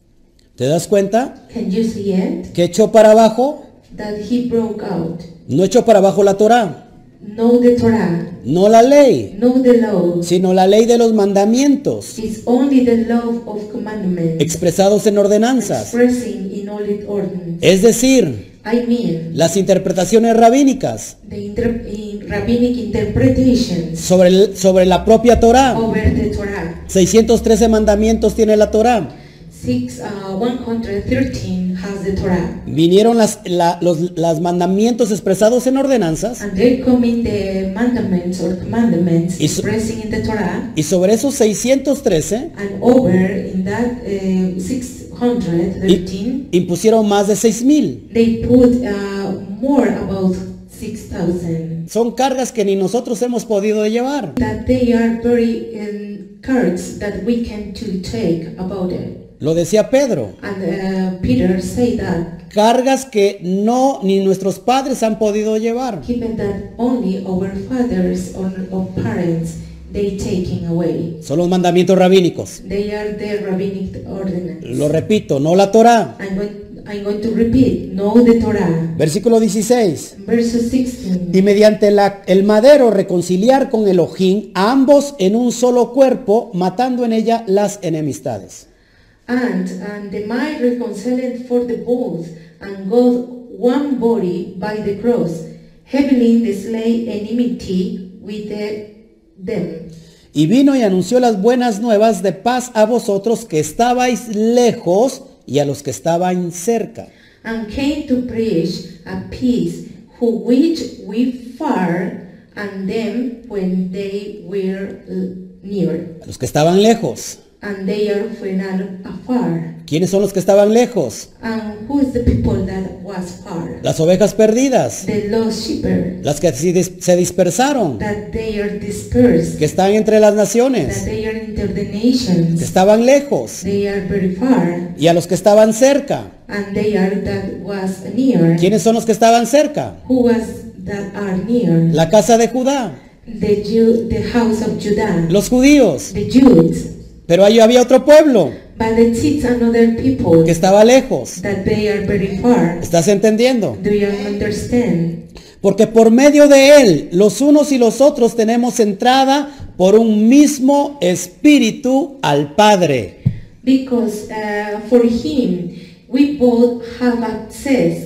¿Te das cuenta? Can you see it? Que echó para abajo, That he broke out. no echó para abajo la Torá, No the Torah, no la ley, no the law. sino la ley de los mandamientos It's only the law of commandments, expresados en ordenanzas. expressing in all its ordinance. Es decir, I mean, las interpretaciones rabínicas the inter- in rabbinic interpretations sobre, el- sobre la propia Torá. over the Torah. seiscientos trece mandamientos tiene la Torá. Six, uh, one hundred thirteen has the Torah. Vinieron las, la- los las mandamientos expresados en ordenanzas, And there come in the mandaments or commandments Y so- expressing in the Torah. y sobre esos seiscientos trece And over in that uh, six hundred thirteen, impusieron más de seis mil. they put uh, more about six thousand. Son cargas que ni nosotros hemos podido llevar. That they are very um, cards that we can to take about it. Lo decía Pedro, And uh, Peter say that, cargas que no ni nuestros padres han podido llevar. given that only our fathers or, or parents, they taking away. Son los mandamientos rabínicos. They are the rabbinic ordinance. Lo repito, no la Torá. I'm going, I'm going to repeat, no the Torah. Versículo dieciséis. Verse sixteen. Y mediante la- el madero reconciliar con Elohim a ambos en un solo cuerpo, matando en ella las enemistades. And, and the mind reconciled for the both, and God one body by the cross, having the slay enmity with the, them. Y vino y anunció las buenas nuevas de paz a vosotros que estabais lejos y a los que estaban cerca. And came to preach a peace, who which we far, and them when they were uh, near. A los que estaban lejos. And they are when are afar. ¿Quiénes son los que estaban lejos? And who is the people that was far? Las ovejas perdidas. The lost shepherd, Las que se dis- se dispersaron. that they are dispersed, Que están entre las that naciones. they are into the Que nations, estaban lejos. they are very far, Y a los que estaban cerca. and they are that was near. ¿Quiénes son los que estaban cerca? Who was that are near? La casa de Judá. The Jew, the house of Judah, Los judíos. the Jews. Pero ahí había otro pueblo But it's another people que estaba lejos. that they are very far. ¿Estás entendiendo? Do you understand? Porque por medio de él, los unos y los otros tenemos entrada por un mismo espíritu al Padre. Because uh, for him we both have access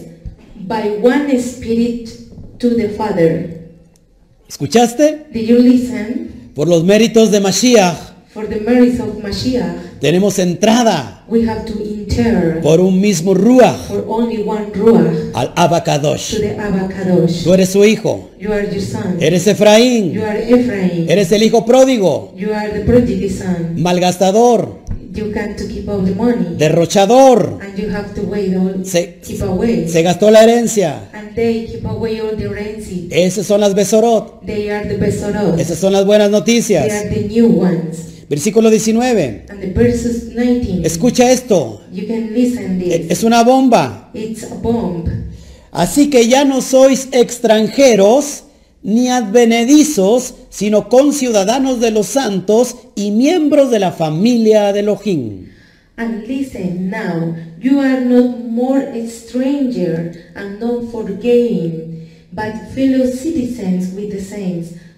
by one spirit to the Father. ¿Escuchaste? Did you listen? Por los méritos de Mashiach, For the merits of Mashiach, tenemos entrada we have to enter por un mismo Ruach for only one Ruach al to Abacadosh. the Abba Kadosh. Tú eres su hijo. You are your son. Eres You Efraín. are Ephraim. Eres el hijo pródigo. You are the prodigy son. Malgastador. You got to keep all the money. Derrochador. And you have to wait all, Se, keep away. se gastó la herencia. And they keep away all the rancid. Esas son las Besorot. They are the Besorot. Esas son las buenas They noticias. are the new ones. Versículo diecinueve. And the verses nineteen. Escucha esto. You can listen this. Es una bomba. It's a bomb. Así que ya no sois extranjeros ni advenedizos, sino conciudadanos de los santos y miembros de la familia de Elohim. And listen now, you are not more a stranger and not forgetting, but fellow citizens with the saints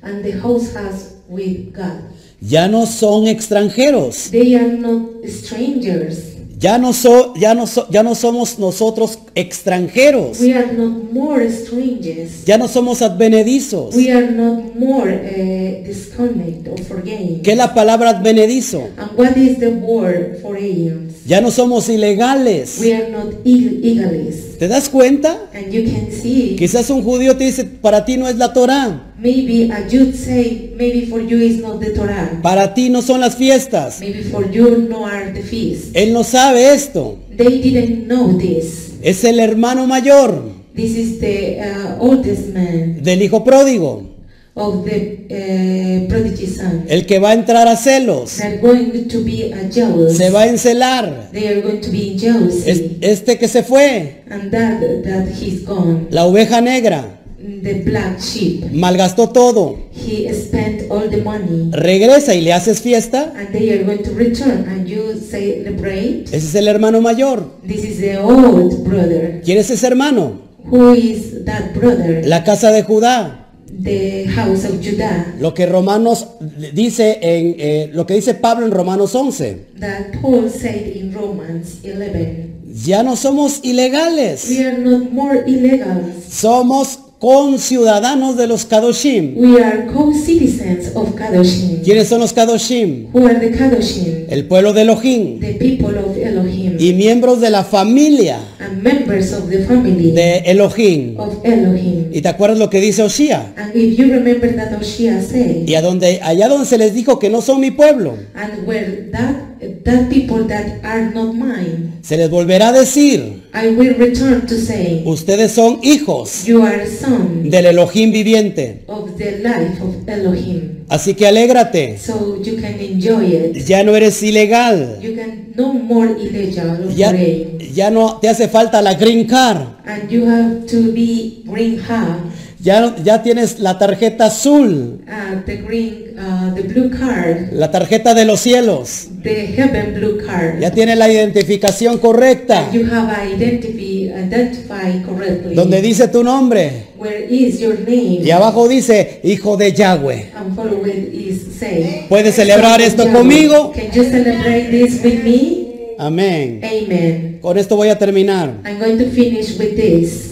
and the house has with God. Ya no son extranjeros. They are not strangers. Ya no, so, ya, no so, ya no somos nosotros extranjeros. We are not more strangers. Ya no somos advenedizos. We are not more uh, disconnect or forgetting. ¿Qué es la palabra advenedizo? And what is the word for aliens? Ya no somos ilegales. We are not ig- egalists. ¿Te das cuenta? And you can see, Quizás un judío te dice, para ti no es la Torá. maybe a Jude say, maybe for you is not the Torah. Para ti no son las fiestas. Maybe for you no are the feast. Él no sabe esto. They didn't know this. Es el hermano mayor This is the uh, oldest man del hijo pródigo. of the uh, prodigy son. El que va a entrar a celos. They're going to be a jealous. Se va a encelar. They are going to be in Es- jealousy. Este que se fue. And that that he's gone. La oveja negra. The black sheep. Malgastó todo. He spent all the money. Regresa y le haces fiesta. And they are going to return. And you celebrate. Ese es el hermano mayor. This is the old brother. ¿Quién es ese hermano? Who is that brother? La casa de Judá. The house of Judah. Lo que Romanos dice en eh, lo que dice Pablo en Romanos once. That Paul said in Romans eleven. Ya no somos ilegales. We are not more illegal. Somos conciudadanos de los Kadoshim. We are co-citizens of Kadoshim. ¿Quiénes son los Kadoshim? Who are the Kadoshim? El pueblo de Elohim. The people of Elohim. Y miembros de la familia And members of the family de Elohim. of Elohim. ¿Y te acuerdas lo que dice Oshia? And if you remember that Oshia said, Y a donde, allá donde se les dijo que no son mi pueblo, and where that that people that are not mine, se les volverá a decir, I will return to say, ustedes son hijos you are son del Elohim viviente. of the life of Elohim. Así que alégrate. So you can enjoy it. Ya no eres ilegal. You can no more illegal or Ya, foreign. ya no te hace falta la green card. And you have to be green hub, Ya, no- ya tienes la tarjeta azul, uh, the green, uh, the blue card, la tarjeta de los cielos. the heaven blue card. Ya tienes la identificación correcta, And you have identify, identify correctly. donde dice tu nombre. Where is your name? Y abajo dice, hijo de Yahweh. And follow it is say. ¿Puedes celebrar esto Yahweh. conmigo? Can you celebrate this with me? Amén. Amen. Con esto voy a terminar. I'm going to finish with this.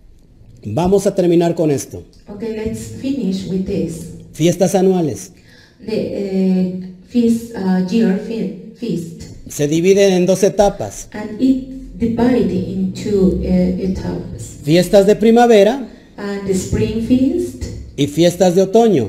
Vamos a terminar con esto. Okay, let's finish with this. Fiestas anuales. The uh, feast, uh, year fe- feast. Se dividen en dos etapas. And it divided into uh, etapas. Fiestas de primavera And the spring feast y fiestas de otoño.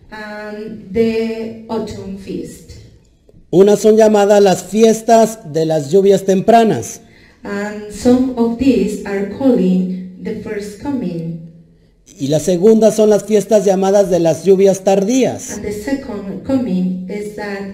and the autumn feast. Unas son llamadas las fiestas de las lluvias tempranas. And some of these are calling the first coming. Y las segundas son las fiestas llamadas de las lluvias tardías. And the second coming is that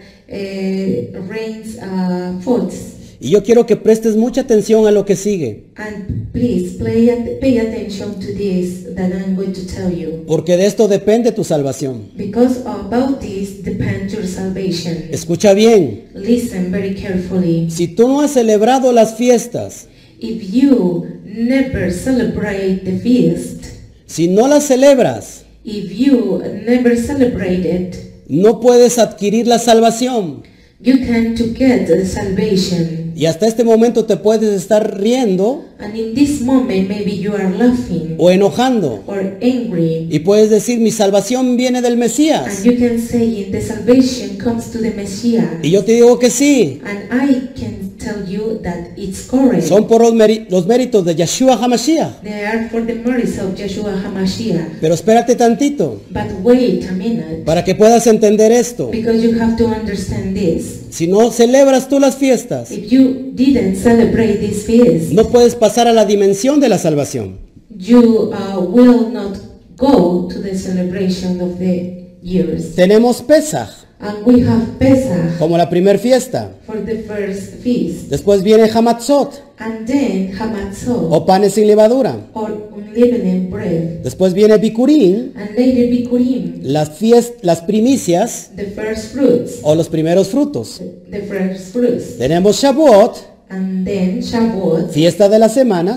uh, rains uh, falls. Y yo quiero que prestes mucha atención a lo que sigue, And please play at, pay attention to this that I'm going to tell you. porque de esto depende tu salvación. Because about this depends your salvation. Escucha bien, Listen very carefully. si tú no has celebrado las fiestas, If you never celebrate the feast, si no las celebras, if you never celebrate it, no puedes adquirir la salvación. you can to get the salvation. Y hasta este momento te puedes estar riendo And in this moment, maybe you are laughing o enojando. or angry. Y puedes decir, mi salvación viene del And Mesías. you can say, the salvation comes to the Messiah. Y yo te digo que sí, And I can tell you that it's correct. son por los, meri- los méritos de Yeshua HaMashiach. They are for the merits of Yeshua HaMashiach. Pero espérate tantito, But wait a minute, para que puedas entender esto. because you have to understand this. Si no celebras tú las fiestas, If you didn't celebrate this feast, no puedes pasar a la dimensión de la salvación. you uh, will not go to the celebration of the years. Tenemos Pesach And we have Pesach como la primer fiesta. for the first feast. Después viene Hamatzot And then Hamatzot, o panes sin levadura. or unleavened bread. Después viene Bikurim, And later Bikurim, las, fies- las primicias the first fruits. o los primeros frutos. The first fruits. Tenemos Shavuot, And then Shavuot, fiesta de las semanas.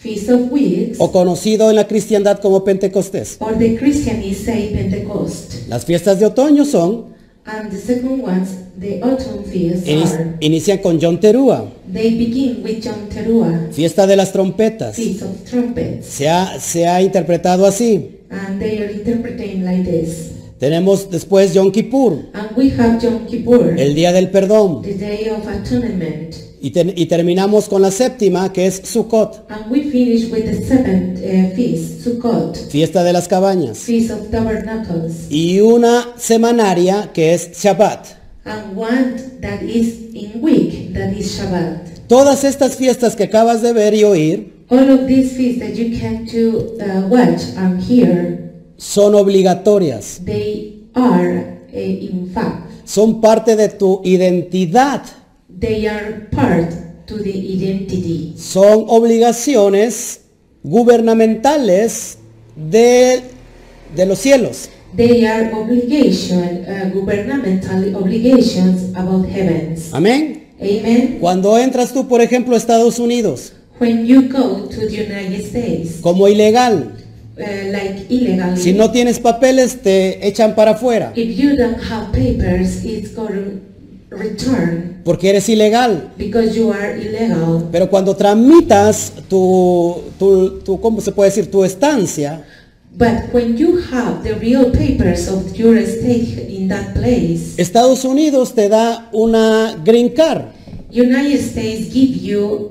Feast of Weeks, o conocido en la cristiandad como Pentecostés. or the Christianists say Pentecost. Las fiestas de otoño son, And the second ones, the autumn feasts, ini- are, inician con Yom Teruah, they begin with Yom Teruah, fiesta de las trompetas. Feast of Trumpets, Se ha, se ha interpretado así. and they are interpreting like this. Tenemos después Yom Kippur, And we have Yom Kippur, el día del perdón. the Day of Atonement. Y, ten- y terminamos con la séptima, que es Sukkot, And we finish with the seventh uh, feast, Sukkot, fiesta de las cabañas. Feast of Tabernacles, Y una semanaria, que es Shabbat. and one that is in week, that is Shabbat. Todas estas fiestas que acabas de ver y oír All of these feasts that you can to uh, watch and hear, son obligatorias, they are, uh, in fact, son parte de tu identidad, they are part to the identity. son obligaciones gubernamentales de, de los cielos. They are obligation, uh, governmental obligations about heavens. Amén. Amen. Cuando entras tú, por ejemplo, a Estados Unidos When you go to the United States, como ilegal, uh, like illegally, si no tienes papeles te echan para afuera if you don't have papers, it's going to return porque eres ilegal. because you are illegal. Pero cuando tramitas tu, tu, tu, ¿cómo se puede decir? Tu estancia, But when you have the real papers of your state in that place, Estados Unidos te da una green card, United States give you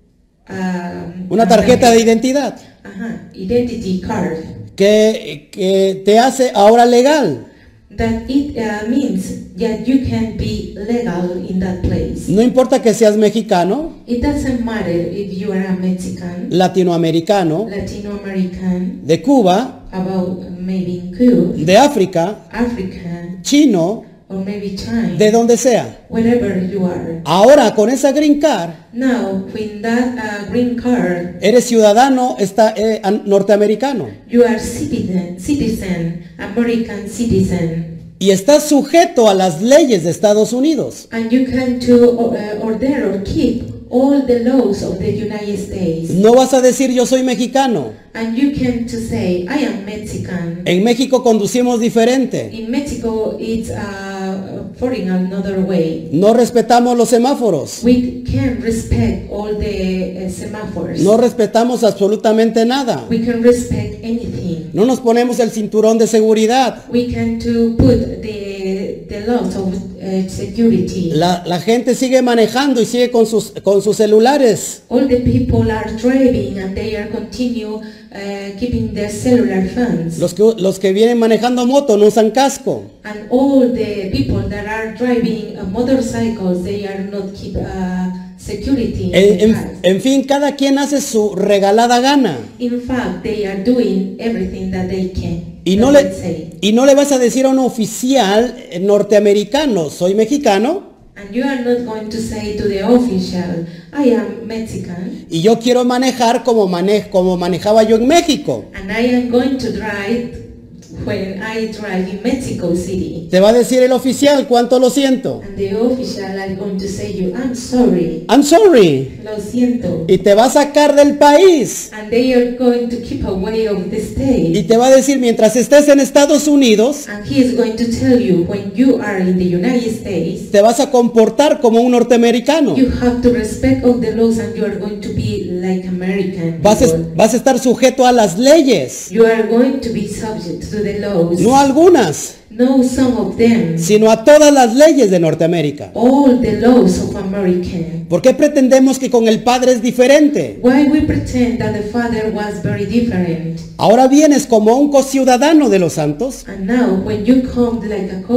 um, una tarjeta de identidad uh-huh, identity card que, que te hace ahora legal. that it uh, means that you can be legal in that place. No importa que seas mexicano, It doesn't matter if you are a Mexican, latinoamericano, Latino American, de Cuba, about maybe in Cuba, de África, African, chino, or maybe China, de donde sea. wherever you are. Ahora con esa green card Now, with that uh, green card, eres ciudadano esta- eh, an- norteamericano you are citizen, citizen, American citizen, y estás sujeto a las leyes de Estados Unidos. and you can to uh, order or keep all the laws of the United States. No vas a decir yo soy mexicano. And you can to say, I am Mexican. En México conducimos diferente. In Mexico, it's uh, foreign another way. No respetamos los semáforos. We can respect all the uh, semaphores. No respetamos absolutamente nada. We can respect anything. No nos ponemos el cinturón de seguridad. We can to put the the laws of uh, security. La, la gente sigue manejando y sigue con sus, con sus celulares. All the people are driving and they are continue uh, keeping their cellular phones. Los que, los que vienen manejando moto no usan casco. And all the people that are driving uh, motorcycles, they are not keep uh, security in En, the en- cars. en fin, cada quien hace su regalada gana. In fact, they are doing everything that they can. Y no, that le, they say. y no le vas a decir a un oficial eh, norteamericano, soy mexicano And you are not going to say to the official, I am Mexican, y yo quiero manejar como, mane- como manejaba yo en México. and I am going to drive when I drive in Mexico City. Te va a decir el oficial, cuánto lo siento. And the official are going to say you, I'm sorry, I'm sorry. lo siento. Y te va a sacar del país. And they are going to keep away of the Y state. te va a decir, mientras estés en Estados Unidos, And he is going to tell you when you are in the United States, te vas a comportar como un norteamericano. you have to respect all the laws and you are going to be like American Vas a, people. vas a estar sujeto a las leyes, You are going to be subject to the laws. no a algunas, No some of them. sino a todas las leyes de Norteamérica. All the laws of America. ¿Por qué pretendemos que con el Padre es diferente? Why we pretend that the father was very different. Ahora vienes como un cociudadano de los santos And now when you come like a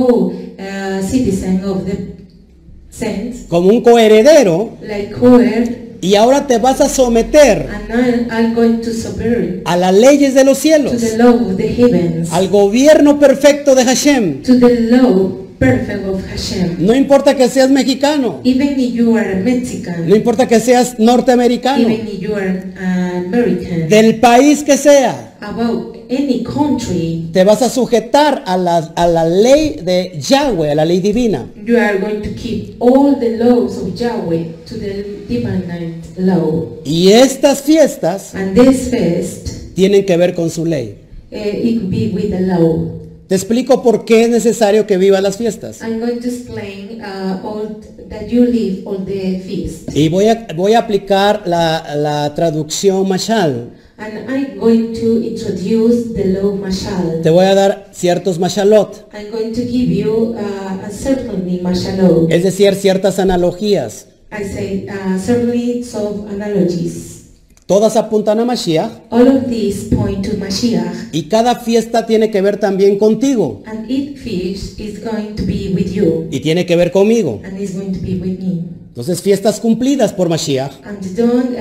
co-citizen of the saints, como un coheredero, like co-heir, y ahora te vas a someter and I, I'm going to subvert a las leyes de los to cielos, the law of the heavens, al gobierno perfecto de Hashem. to the law perfect of Hashem. No importa que seas mexicano, Even if you are a Mexican, no importa que seas norteamericano, even if you are uh, American, del país que sea, about any country, te vas a sujetar a la, a la ley de Yahweh, a la ley divina. you are going to keep all the laws of Yahweh to the divine law. Y estas fiestas And this fest, tienen que ver con su ley. uh, it could be with the law. Te explico por qué es necesario que vivas las fiestas. I'm going to explain uh, all that you live all the feast. Y voy a, voy a aplicar la, la traducción mashal. And I'm going to introduce the law mashal. Te voy a dar ciertos mashalot, I'm going to give you uh, a certainly mashalot. es decir, ciertas analogías. I say uh, certainly of analogies. Todas apuntan a Mashiach All of these point to Mashiach, y cada fiesta tiene que ver también contigo and each feast is going to be with you, y tiene que ver conmigo. and is going to be with me. Entonces, fiestas cumplidas por Mashiach. And don't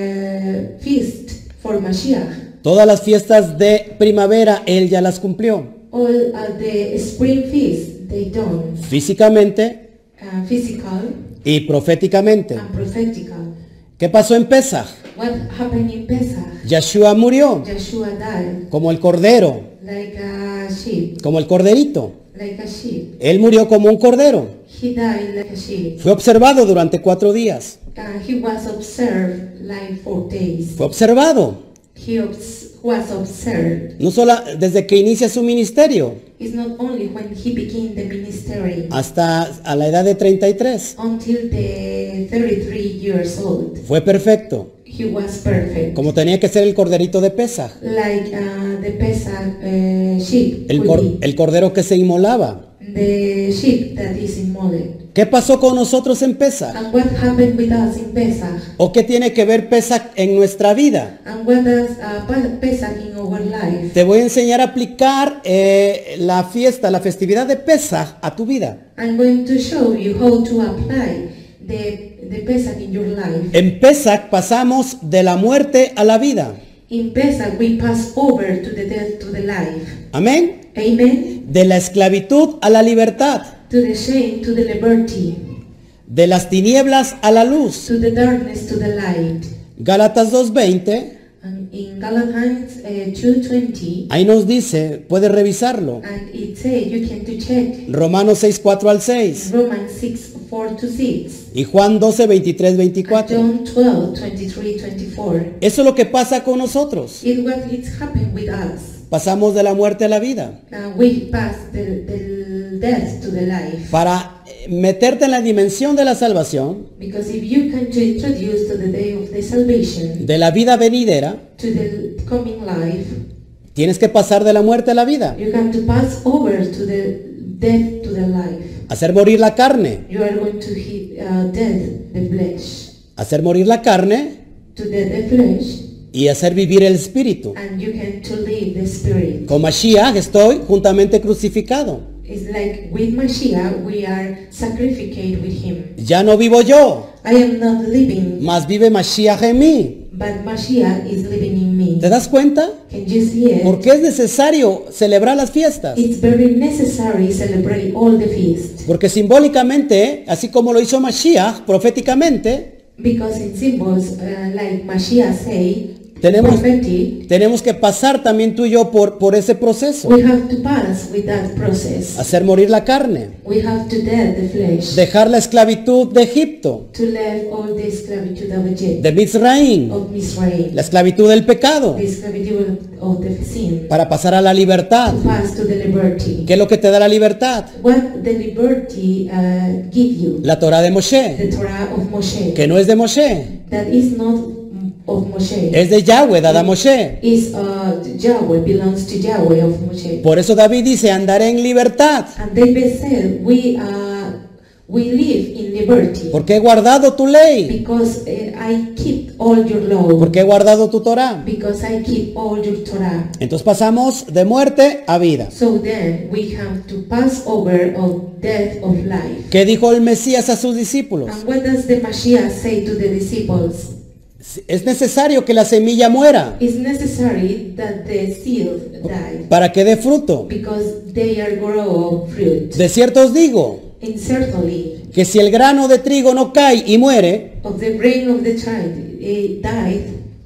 uh, feast for Mashiach. Todas las fiestas de primavera, Él ya las cumplió. All uh, the spring feast they done, Físicamente uh, physical y proféticamente. and prophetical. ¿Qué pasó en Pesach? What happened in Pesach? Yeshua murió Joshua died como el cordero, like a sheep, como el corderito. like a sheep. Él murió como un cordero. He died like a sheep. Fue observado durante cuatro días. Uh, he was observed like four days. Fue observado. He obs- was observed. No solo desde que inicia su ministerio It's not only when he began the ministry hasta a la edad de treinta y tres. until the thirty-three years old. Fue perfecto, He was perfect. como tenía que ser el corderito de Pesach. Like uh, the Pesach uh, sheep. El, would cor- be. el cordero que se inmolaba. The sheep that is immolate. ¿Qué pasó con nosotros en Pesach? And what happened with us in Pesach? ¿O qué tiene que ver Pesach en nuestra vida? And what does uh, Pe- Pesach in our life? Te voy a enseñar a aplicar eh, la fiesta, la festividad de Pesach a tu vida. I'm going to show you how to apply the, the Pesach in your life. En Pesach pasamos de la muerte a la vida. In Pesach we pass over to the death to the life. Amén. Amen. De la esclavitud a la libertad. To the shame, to the liberty, De las tinieblas a la luz. to the darkness, to the light. Gálatas dos veinte, And in Galatians uh, two twenty, ahí nos dice, puedes revisarlo. and it says you can to check Romanos seis, cuatro al seis. Romans six four to six, Y Juan doce, veintitrés, and veinticuatro. John twelve twenty-three twenty-four. Eso es lo que pasa con nosotros. It's what it's happened with us. Pasamos de la muerte a la vida. Uh, we pass the, the death to the life. Para eh, meterte en la dimensión de la salvación, Because if you can to introduce to the day of the salvation, de la vida venidera, to the coming life, tienes que pasar de la muerte a la vida. you can to pass over to the death to the life. Hacer morir la carne. You are going to hit uh, death the flesh, Hacer morir la carne to death the flesh, y hacer vivir el espíritu. and you can to live the spirit. Con Mashiach estoy juntamente crucificado. It's like with Mashiach we are sacrificed with him. Ya no vivo yo, I am not living, mas vive Mashiach en mí. but Mashiach is living in me. ¿Te das cuenta? Can you see it? ¿Por qué es necesario celebrar las fiestas? It's very necessary to celebrate all the feasts. Porque simbólicamente, así como lo hizo Mashiach proféticamente, Because in symbols, uh, like Mashiach say, Tenemos- prophetic, tenemos que pasar también tú y yo por, por ese proceso. we have to pass with that process. Hacer morir la carne. We have to dead the flesh, Dejar la esclavitud de Egipto, to leave all the esclavitude of Egypt, de Mizraim, of Israel, la esclavitud del pecado, the esclavitude of the sin, para pasar a la libertad. to pass to the liberty. ¿Qué es lo que te da la libertad? What the liberty uh, give you? La Torah de Moshe, The Torah of Moshe. que no es de Moshe, That is not of Moshe. es de Yahweh, dada a Moshe. Is uh, Yahweh, belongs to Yahweh of Moshe. Por eso David dice, andaré en libertad, And David said, we uh, we live in liberty porque he guardado tu ley, because uh, I keep all your law, porque he guardado tu Torah. because I keep all your Torah. Entonces pasamos de muerte a vida. So then we have to pass over of death of life. ¿Qué dijo el Mesías a sus discípulos? And what does the Mashiach say to the disciples? Es necesario que la semilla muera It's necessary that the seed die para que dé fruto. because they are grow of fruit. De cierto os digo And certainly que si el grano de trigo no cae y muere, of the brain of the child it died,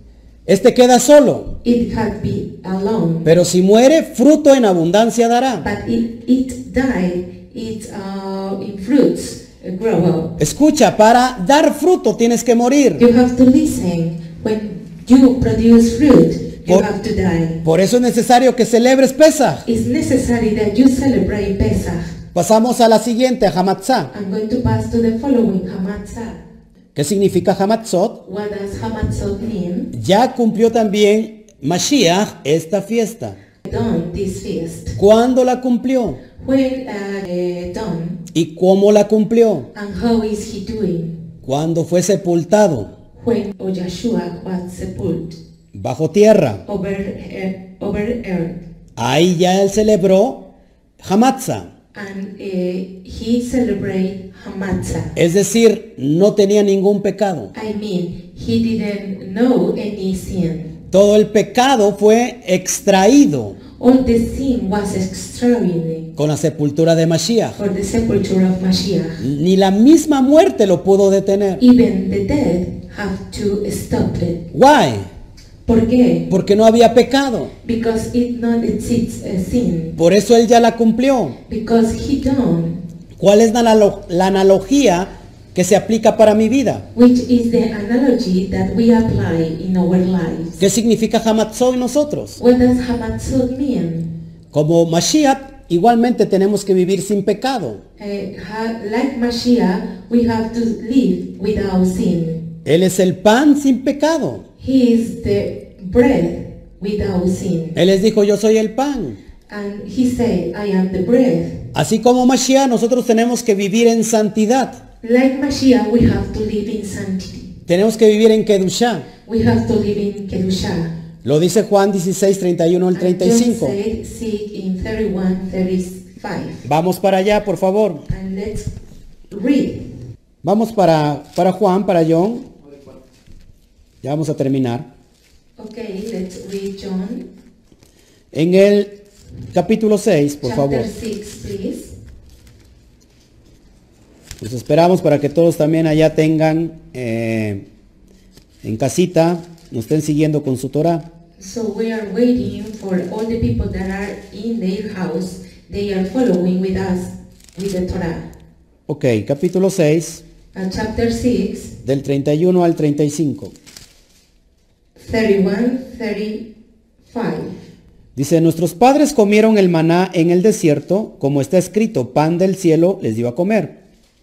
este queda solo. It had been alone. Pero si muere, fruto en abundancia dará. But it, it died, it uh, in fruits uh, grow up. Escucha, para dar fruto tienes que morir. You have to listen. When you produce fruit, you Por- have to die. Por eso es necesario que celebres Pesaj. It's necessary that you celebrate Pesach. Pasamos a la siguiente, a Hamatzah. I'm going to pass to the following, Hamatzah. ¿Qué significa Hamatzot? What does Hamatzot mean? Ya cumplió también Mashiach esta fiesta. Done this feast. ¿Cuándo la cumplió? When uh, uh, done, ¿Y cómo la cumplió? and how is he doing? Cuando fue sepultado When O Yeshua was sepulted bajo tierra. over, uh, over earth. Ahí ya él celebró Hamatzah. And uh, he celebrated Hamatzah. Es decir, no tenía ningún pecado. I mean, he didn't know any sin. Todo el pecado fue extraído All the sin was extraordinary con la sepultura de Mashiach. for the sepulture of Mashiach. Ni la misma muerte lo pudo detener. Even the dead have to stop it. Why? ¿Por qué? Porque no había pecado. Because it not exists a sin. Por eso él ya la cumplió. Because he done, ¿Cuál es la, analo- la analogía que se aplica para mi vida? which is the analogy that we apply in our lives. ¿Qué significa Hamatzot en nosotros? What does Hamatzot mean? Como Mashiach, igualmente tenemos que vivir sin pecado. Uh, ha- like Mashiach, we have to live without sin. Él es el pan sin pecado. He is the bread without sin. Él les dijo, yo soy el pan. And he said, I am the bread. Así como Mashiach, nosotros tenemos que vivir en santidad. Like Mashiach, we have to live in sanctity. Tenemos que vivir en Kedushá. We have to live in Kedusha. Lo dice Juan dieciséis, treinta y uno al And treinta y John cinco. said, seek in thirty-one, thirty-five. Vamos para allá, por favor. And let's read. Vamos para, para Juan, para John. Ya vamos a terminar. Okay, let's read John En el capítulo seis, por favor. chapter six, please. Los esperamos para que todos también allá tengan eh, en casita, nos estén siguiendo con su Torah. So we are waiting for all the people that are in their house. They are following with us with the Torah. Ok, capítulo seis, Uh, chapter six, del treinta y uno al treinta y cinco. thirty-one, thirty-five. Dice, nuestros padres comieron el maná en el desierto, como está escrito, pan del cielo les dio a comer.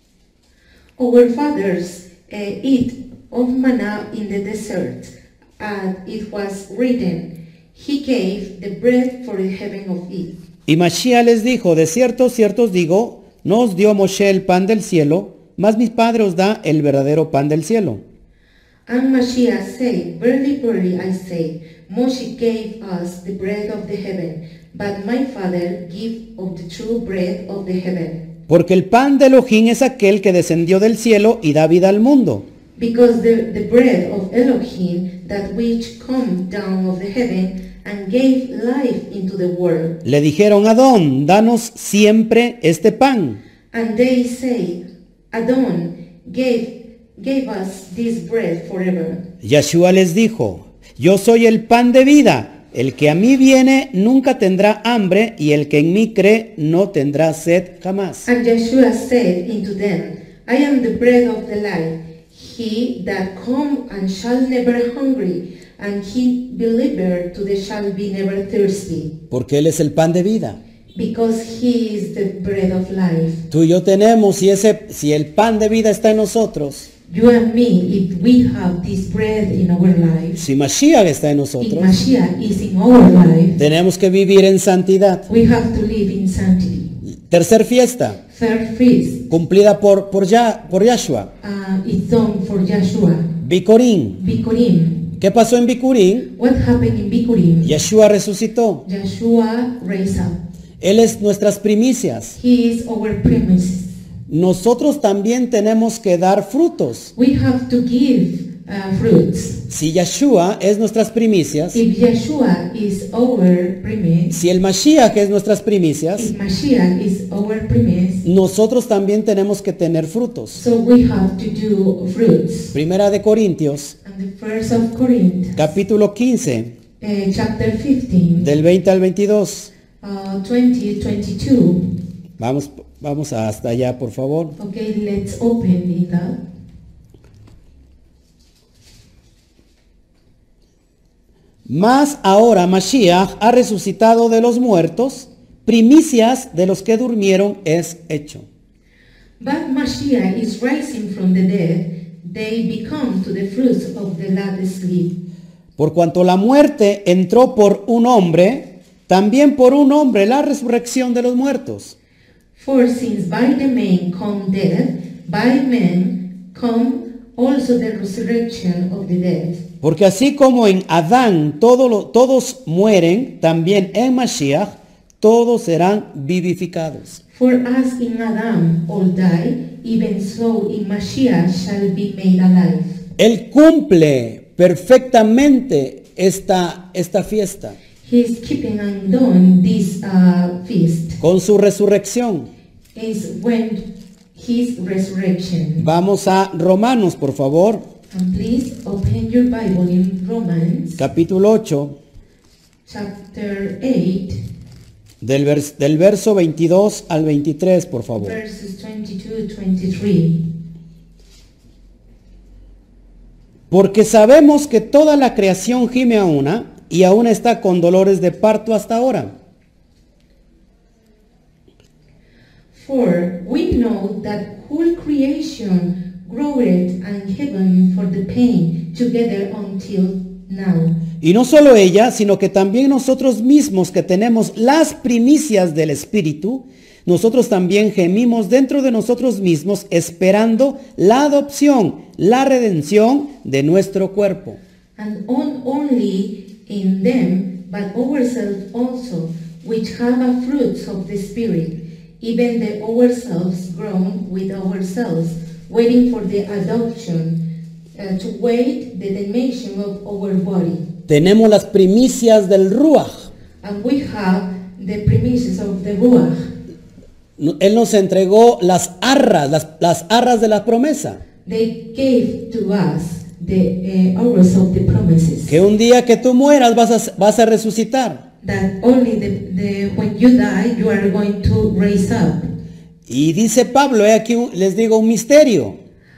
Our fathers uh, eat of manna in the desert, and it was written, He gave the bread for the heaven of it. Y Mashiach les dijo, de cierto, cierto os digo, no os dio Moshe el pan del cielo, mas mi Padre os da el verdadero pan del cielo. And Mashiach said, Verily, verily, I say, Moshe gave us the bread of the heaven, but my Father give of the true bread of the heaven. Porque el pan de Elohim es aquel que descendió del cielo y da vida al mundo. Because the, the bread of Elohim, that which come down of the heaven, and gave life into the world. Le dijeron, Adón, danos siempre este pan. And they say, Adon gave, gave us this bread forever. Yeshua les dijo, yo soy el pan de vida. El que a mí viene nunca tendrá hambre y el que en mí cree no tendrá sed jamás. And Yeshua said unto them, I am the bread of the life. He that come and shall never hungry, and he believer to the shall be never thirsty. Porque Él es el pan de vida. Because he is the bread of life. Tú y yo tenemos, si, ese, si el pan de vida está en nosotros, You and me, if we have this bread in our lives, si Mashiach está en if nosotros, Mashiach is in our life, tenemos que vivir en santidad. we have to live in sanctity. Tercer fiesta, Third feast, cumplida por, por, ya, por Yahshua. uh, is done for Yeshua. Bikurim. Bikurim. ¿Qué pasó en Bikurim? What happened in Bikurim? Yeshua resucitó. Yeshua raised up. Él es nuestras primicias. He is our premises. Nosotros también tenemos que dar frutos. We have to give uh, fruits. Si Yeshua es nuestras primicias, If Yeshua is our premise, si el Mashiach es nuestras primicias, if Mashiach is our premise, nosotros también tenemos que tener frutos. so we have to do fruits. Primera de Corintios, And the first of Corinthians, capítulo quince, uh, chapter fifteen, del veinte al veintidós. uh, twenty, twenty-two. Vamos, vamos hasta allá, por favor. Okay, let's open it up. Mas ahora Mashiach ha resucitado de los muertos, primicias de los que durmieron es hecho. But Mashiach is rising from the dead, they become to the fruits of the latter sleep. Por cuanto la muerte entró por un hombre, también por un hombre la resurrección de los muertos. For since by the man come death, by men come also the resurrection of the dead. Porque así como en Adán todo lo- todos mueren, también en Mashiach todos serán vivificados. For as in Adam all die, even so in Mashiach shall be made alive. Él cumple perfectamente esta, esta fiesta He is keeping undone this uh, feast, con su resurrección. is when his resurrection. Vamos a Romanos, por favor, And please open your Bible in Romans capítulo ocho, chapter eight, del, vers- del verso veintidós al veintitrés, por favor. verses twenty-two to twenty-three. Porque sabemos que toda la creación gime a una y aún está con dolores de parto hasta ahora. For we know that whole creation groweth and heaven for the pain together until now. Y no solo ella, sino que también nosotros mismos que tenemos las primicias del Espíritu, nosotros también gemimos dentro de nosotros mismos esperando la adopción, la redención de nuestro cuerpo. And on only in them, but ourselves also, which have a fruits of the Spirit, even the ourselves grown with ourselves, waiting for the adoption, uh, to wait the dimension of our body. Tenemos las primicias del Ruach. And we have the premises of the Ruach. Él nos entregó las arras, las, las arras de la promesa. They gave to us the uh, hours of the promises. Que un día que tú mueras vas a, vas a resucitar. That only the, the when you die you are going to raise up. Y dice Pablo, he aquí un- les digo un misterio.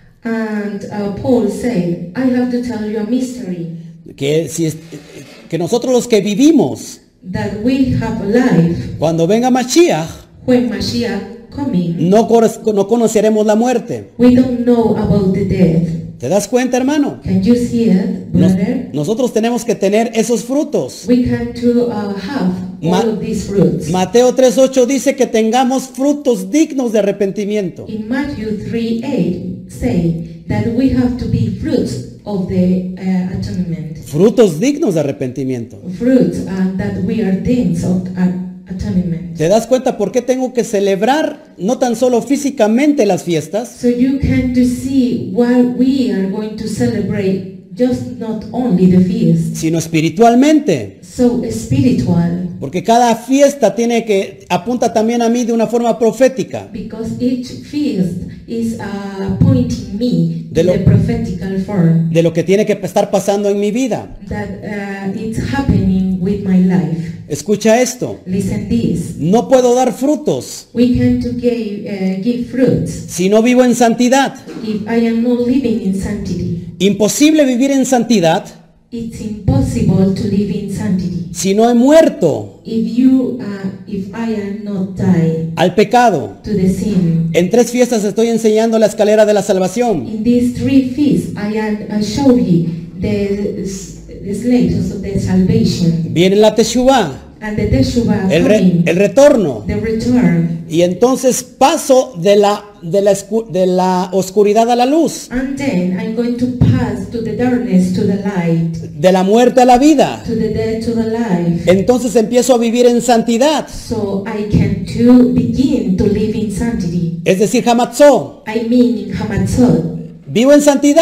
And uh, Paul said, I have to tell you a mystery, Que, si es- que nosotros los que vivimos, that we have life cuando venga Mashiach, when Mashiach coming. no, cor- no conoceremos la muerte. We don't know about the death. ¿Te das cuenta, hermano? Can you see it, Nos- brother? nosotros tenemos que tener esos frutos. We can to uh, have Ma- all of these fruits. Mateo tres ocho dice que tengamos frutos dignos de arrepentimiento. In Matthew three eight say that we have to be fruits of the uh, atonement. Frutos dignos de arrepentimiento. Fruits and that we are things of uh, atonement. ¿Te das cuenta por qué tengo que celebrar no tan solo físicamente las fiestas, So you can to see why we are going to celebrate just not only the feast, sino espiritualmente? so spiritual, Porque cada fiesta tiene que apunta también a mí de una forma profética. because each feast is uh, pointing me De to lo- the prophetical form De lo que tiene que estar pasando en mi vida. that uh, it's happening with my life. Escucha esto. Listen this. No puedo dar frutos We can to give, uh, give fruits si no vivo en santidad. if I am not living in sanctity. Imposible vivir en santidad It's impossible to live in sanctity si no he muerto if you uh, if I am not died al pecado. to the sin. En tres fiestas estoy enseñando la escalera de la salvación. In these three feasts, I am I show you the, the slaves of the salvation Viene la Teshuvah, and the Teshuvah el, re- coming, el retorno. the return, Y entonces paso de la, de, la, escu- de la oscuridad a la luz, and then I'm going to pass to the darkness to the light, de la muerte a la vida. to the death to the life. Entonces empiezo a vivir en santidad, So I can to begin to live in sanctity. es decir, hamatzó. I mean in Hamatzot. Vivo en santidad,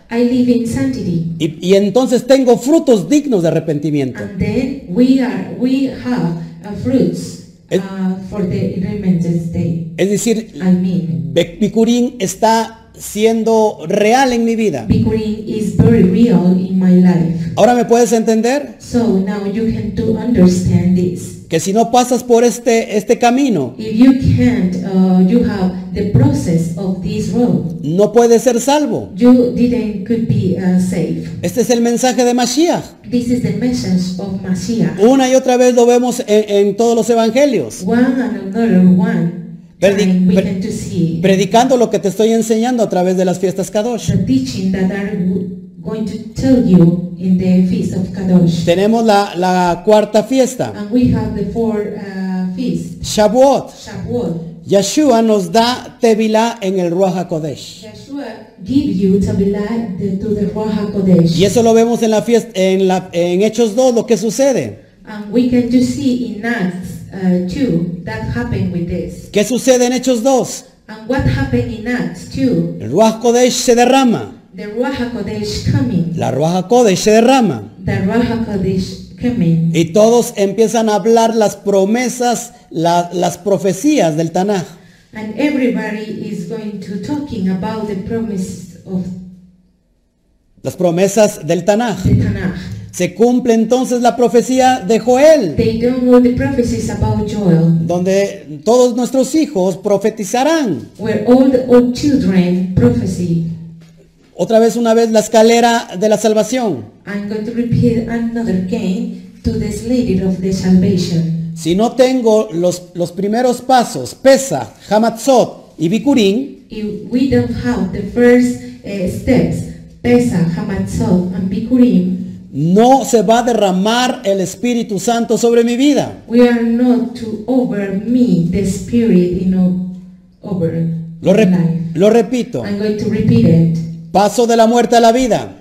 I live in sanctity. Y, y entonces tengo frutos dignos de arrepentimiento. And then we are we have uh, fruits Es- uh, for the Remembrance Day. Es decir, I mean, Be- Bikurim está siendo real en mi vida. Bikurim is very real in my life. Ahora me puedes entender So now you can to understand this. que si no pasas por este, este camino, If you can't, uh, you have the process of this road. no puedes ser salvo. You didn't could be uh, saved. Este es el mensaje de Mashiach. This is the message of Mashiach. Una y otra vez lo vemos en, en todos los evangelios. One and another one Predi- time we pre- can to see Predicando lo que te estoy enseñando a través de las fiestas Kadosh. the teaching that I'm going to tell you in the Feast of Kadosh. Tenemos la, la cuarta fiesta, And we have the four uh, feasts. Shavuot. Shavuot. Yeshua nos da Tevilá en el Ruach HaKodesh. Yeshua give you Tabilah the- to the Ruach HaKodesh. Y eso lo vemos en la fiesta, en, la, en Hechos dos, lo que sucede. And we can just see in Acts uh, two that happened with this. ¿Qué sucede en Hechos dos? And what happened in Acts two? El Ruach HaKodesh se derrama. The Ruach HaKodesh coming. La Ruach HaKodesh se derrama. The Ruach HaKodesh coming. Y todos empiezan a hablar las promesas, la- las profecías del Tanaj. And everybody is going to talking about the promise of Las promesas del Tanaj. the Tanakh. Se cumple entonces la profecía de Joel, They don't know the prophecies about Joel, donde todos nuestros hijos profetizarán. where all the old children prophecy. Otra vez, una vez, la escalera de la salvación. I'm going to repeat another again to the ladder of the salvation. Si no tengo los, los primeros pasos, Pesach, Hamatzot y Bikurim, If we don't have the first uh, steps, Pesach, Hamatzot, and Bikurim, no se va a derramar el Espíritu Santo sobre mi vida. we are not to over me the spirit, you know, over Lo, my rep- life. lo repito. I'm going to repeat it. Paso de la muerte a la vida.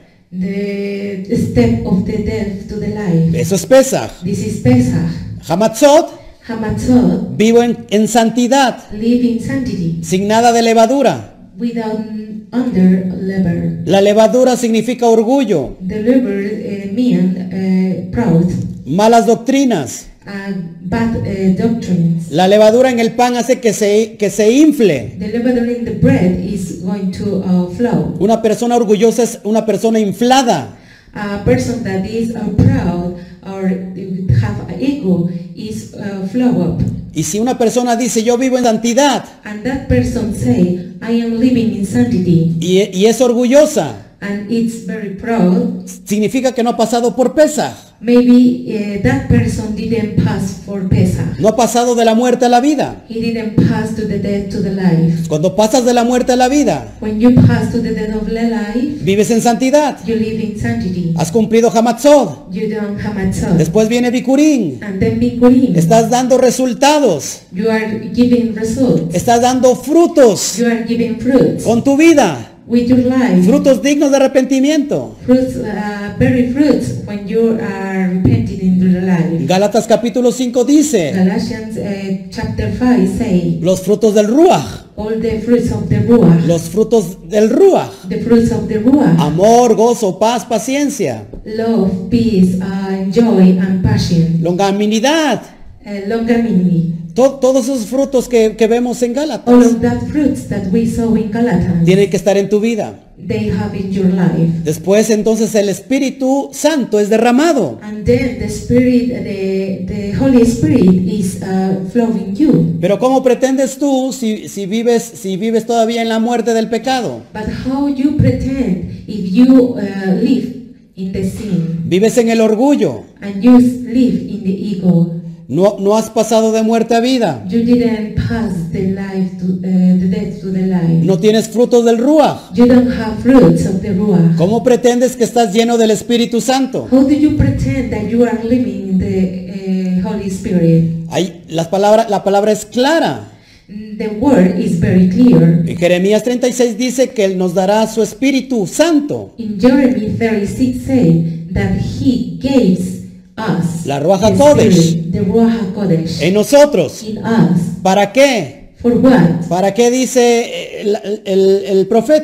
The step of the death to the life. Eso es Pesach. This is Pesach. Hamatzot, Hamatzot, vivo en, en santidad, live in sanctity, sin nada de levadura. without under lever. La levadura significa orgullo, The lever uh, mean uh, proud, malas doctrinas. and bad uh, doctrines. La levadura en el pan hace que se, que se infle. The leaven in the bread is going to uh, flow. Una persona orgullosa es una persona inflada. A person that is uh, proud or have an ego is uh, flow up. Y si una persona dice yo vivo en santidad And that person say, I am living in sanctity, y, y es orgullosa, and it's very proud, significa que no ha pasado por Pesach. maybe uh, that person didn't pass for Pesach. No ha pasado de la muerte a la vida. He didn't pass to the death to the life. Cuando pasas de la muerte a la vida, When you pass to the death of the life, vives en santidad. you live in sanctity. Has cumplido Hamatzot. You don't have matzot. Después viene Bikurim. And then Bikurim, Estás dando resultados. you are giving results. Estás dando frutos You are giving fruits con tu vida. with your life. Frutos dignos de arrepentimiento. Fruits, uh, very fruits when you are repenting in your life. Gálatas capítulo cinco dice, Galatians uh, chapter five say, los frutos del Ruach. all the fruits of the Ruach, Los frutos del Ruach. the fruits of the Ruach, Amor, gozo, paz, paciencia, love, peace, uh, joy, and passion, longanimidad. uh, longanimity. To- todos esos frutos que, que vemos en All Gálatas of that fruits that we saw in Galatians, tienen que estar en tu vida. they have in your life. Después entonces el Espíritu Santo es derramado. And then the Spirit, the, the Holy Spirit is uh, flowing you. Pero ¿cómo pretendes tú si, si, vives, si vives todavía en la muerte del pecado? But how you pretend if you uh, live in the sin Vives en el orgullo. and you live in the ego? No, no has pasado de muerte a vida. You didn't pass the life to uh, the death to the life. No tienes frutos del Ruach. You don't have fruits of the Ruach. ¿Cómo pretendes que estás lleno del Espíritu Santo? How do you pretend that you are living in the uh, Holy Spirit? Ahí, las palabras, la palabra es clara. The word is very clear. En Jeremías treinta y seis dice que Él nos dará su Espíritu Santo. In Jeremy thirty-six say that he gave us La Ruach the HaKodesh. Spirit, the Ruach HaKodesh En nosotros. in us. ¿Para qué? For what? ¿Para qué dice el, el- el profeta?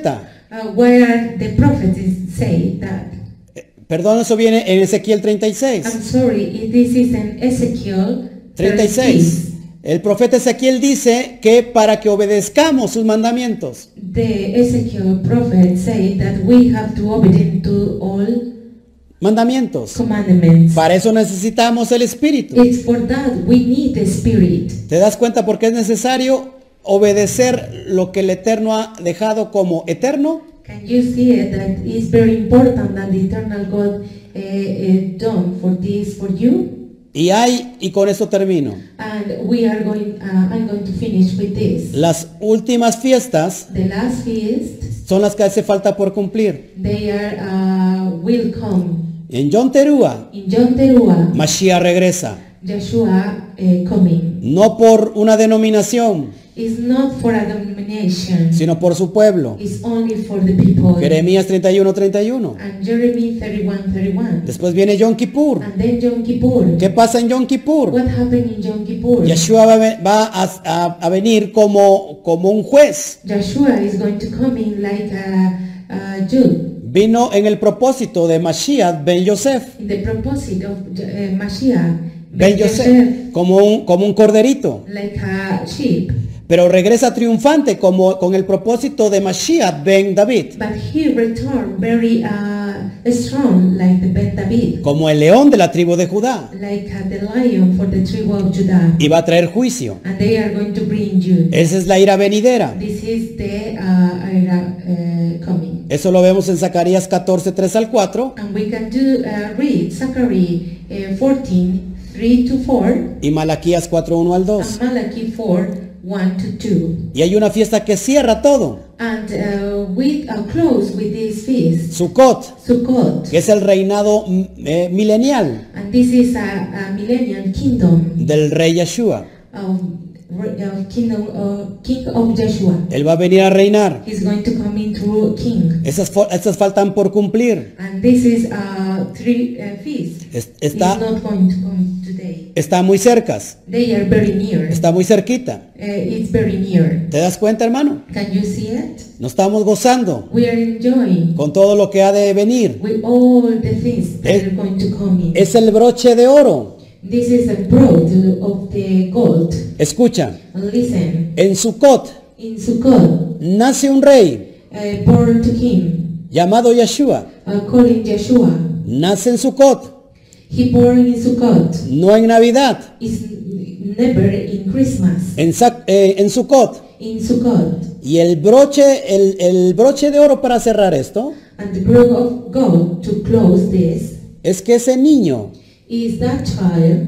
Uh, where the prophets say that. Perdón, eso viene en Ezequiel treinta y seis. I'm sorry, if this is in Ezekiel treinta y seis. El profeta Ezequiel dice que para que obedezcamos sus mandamientos. The Ezekiel prophet say that we have to obey to all mandamientos. Commandments. Para eso necesitamos el Espíritu. It's for that we need the Spirit. ¿Te das cuenta por qué es necesario obedecer lo que el Eterno ha dejado como eterno? Can you see it, that it's very important that the eternal God uh, uh, done for this for you? Y hay, y con esto termino. And we are going, uh, I'm going to finish with this. Las últimas fiestas The last feast, son las que hace falta por cumplir. they are uh, will come. En Yom Teruah, In Yom Teruah, Mashiach regresa. Joshua uh, coming. No por una denominación, It's not for a denomination. sino por su pueblo. It's only for the people. Jeremías treinta y uno, treinta y uno. And Jeremy thirty-one, thirty-one. Después viene Yom Kippur. And then Yom Kippur. ¿Qué pasa en Yom Kippur? What happened in Yom Kippur? Yeshua va, va a, a, a venir como, como un juez. Joshua is going to come in like a, a Jude. Vino en el propósito de Mashiach ben Yosef. In the propósito of uh, Mashiach, Ben Yosef, como un, como un corderito. like a sheep. Pero regresa triunfante como con el propósito de Mashiach ben David. But he returned very uh, strong, like the Ben David, Como el león de la tribu de Judá. like uh, the lion for the tribe of Judah. Y va a traer juicio. And they are going to bring you. Esa es la ira venidera. This is the uh, era uh, coming. Eso lo vemos en Zacarías catorce, tres al cuatro. And we can do uh, read Zachary uh, fourteen, three to four, Y Malaquías cuatro, uno al dos. and Malachi four, one to two. Y hay una fiesta que cierra todo. And uh, we uh, close with this feast, Sukkot, Sukkot. que es el reinado mm, eh, milenial And this is a, a millennial kingdom del rey Yeshua. of, of kingdom of King of Joshua. Él va a venir a reinar. He's going to come into king. Esas, fo- esas faltan por cumplir. And this is a three uh, feast. Es- It's está, not going to come today. está muy cercas. They are very near. Está muy cerquita. Uh, it's very near. ¿Te das cuenta, hermano? Can you see it? Nos estamos gozando We are enjoying con todo lo que ha de venir. with all the things that Es- are going to come in. Es el broche de oro. This is a broad of the gold. Escucha, Listen, en Sukkot in Sukkot, nace un rey uh, born to king, llamado Yeshua. uh, calling Joshua. Nace en Sukkot, He born in Sukkot. no en Navidad. Is never in Christmas. En, Sa- eh, en Sukkot. In Sukkot. Y el broche, el, el broche de oro para cerrar esto, And the broad of gold to close this es que ese niño is that child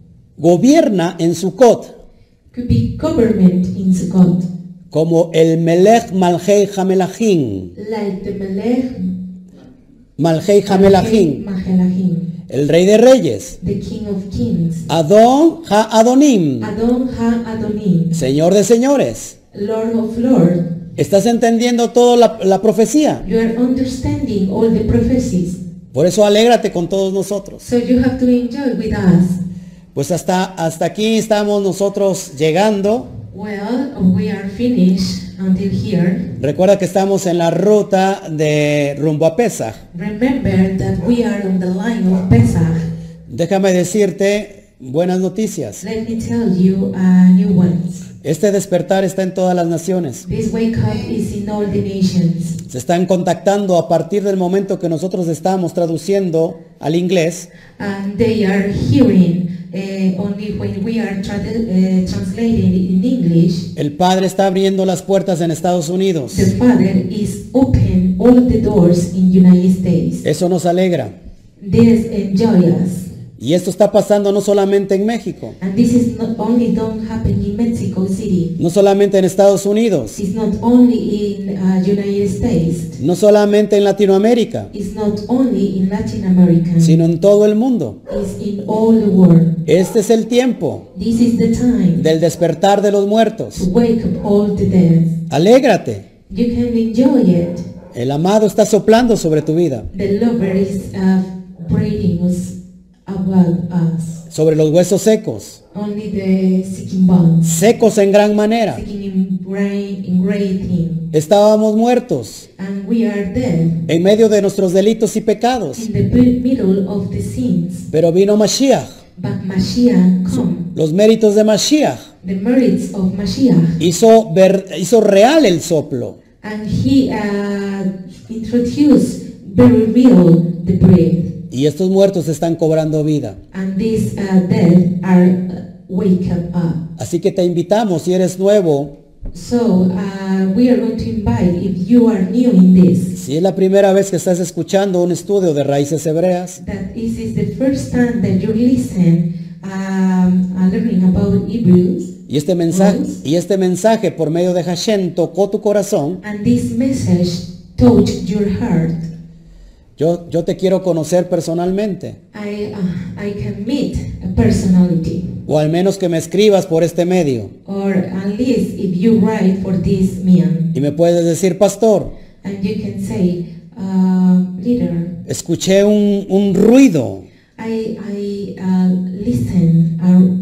gobierna en Sukkot could be government in Sukkot. como el Melech Malchei Hamelachim. Like the Melech Malchei Hamelachim, Mahelachim, el rey de reyes. the king of kings. Adon Ha-Adonim, Adon Ha-Adonim, señor de señores. Lord of lords. ¿Estás entendiendo toda la, la profecía? You are understanding all the prophecies. Por eso alégrate con todos nosotros. So you have to enjoy with us. Pues hasta, hasta aquí estamos nosotros llegando. Well, we are finished until here. Recuerda que estamos en la ruta de rumbo a Pesach. Remember that we are on the line of Pesach. Déjame decirte buenas noticias. Let me tell you uh, new ones. Este despertar está en todas las naciones. This wake up is in all the nations. Se están contactando a partir del momento que nosotros estamos traduciendo al inglés. And they are hearing uh, only when we are tra uh, translating in English. El Padre está abriendo las puertas en Estados Unidos. The Father is open all the doors in United States. Eso nos alegra. This enjoy us. Y esto está pasando no solamente en México, And this is not only don't happen in Mexico City. no solamente en Estados Unidos, It's not only in uh, United States. no solamente en Latinoamérica, It's not only in Latin America. sino en todo el mundo. It's in all the world. Este es el tiempo This is the time del despertar de los to muertos. wake up all the dead. Alégrate. You can enjoy it. El amado está soplando sobre tu vida, The lover is uh, breathing us about us. sobre los huesos secos, Only the seeking bones. secos en gran manera. Seeking in great, great thing. Estábamos muertos And we are dead en medio de nuestros delitos y pecados. in the mi- middle of the sins. Pero vino Mashiach, But Mashiach come. los méritos de Mashiach. The merits of Mashiach. Hizo, ver, hizo real el soplo. And he uh, introduced very real the breath. Y estos muertos están cobrando vida. And these uh, dead are uh, wake up. Así que te invitamos, si eres nuevo, So uh, we are going to invite, if you are new in this, si es la primera vez que estás escuchando un estudio de raíces hebreas, that this is the first time that you listen um, uh, learning about Hebrews, y este mensaje, y este mensaje por medio de Hashem tocó tu corazón, and this message touched your heart. yo, yo te quiero conocer personalmente, I uh, I can meet a personality, o al menos que me escribas por este medio, or at least if you write for this man, y me puedes decir, pastor, and you can say, uh, leader, escuché un, un ruido, I I uh, listen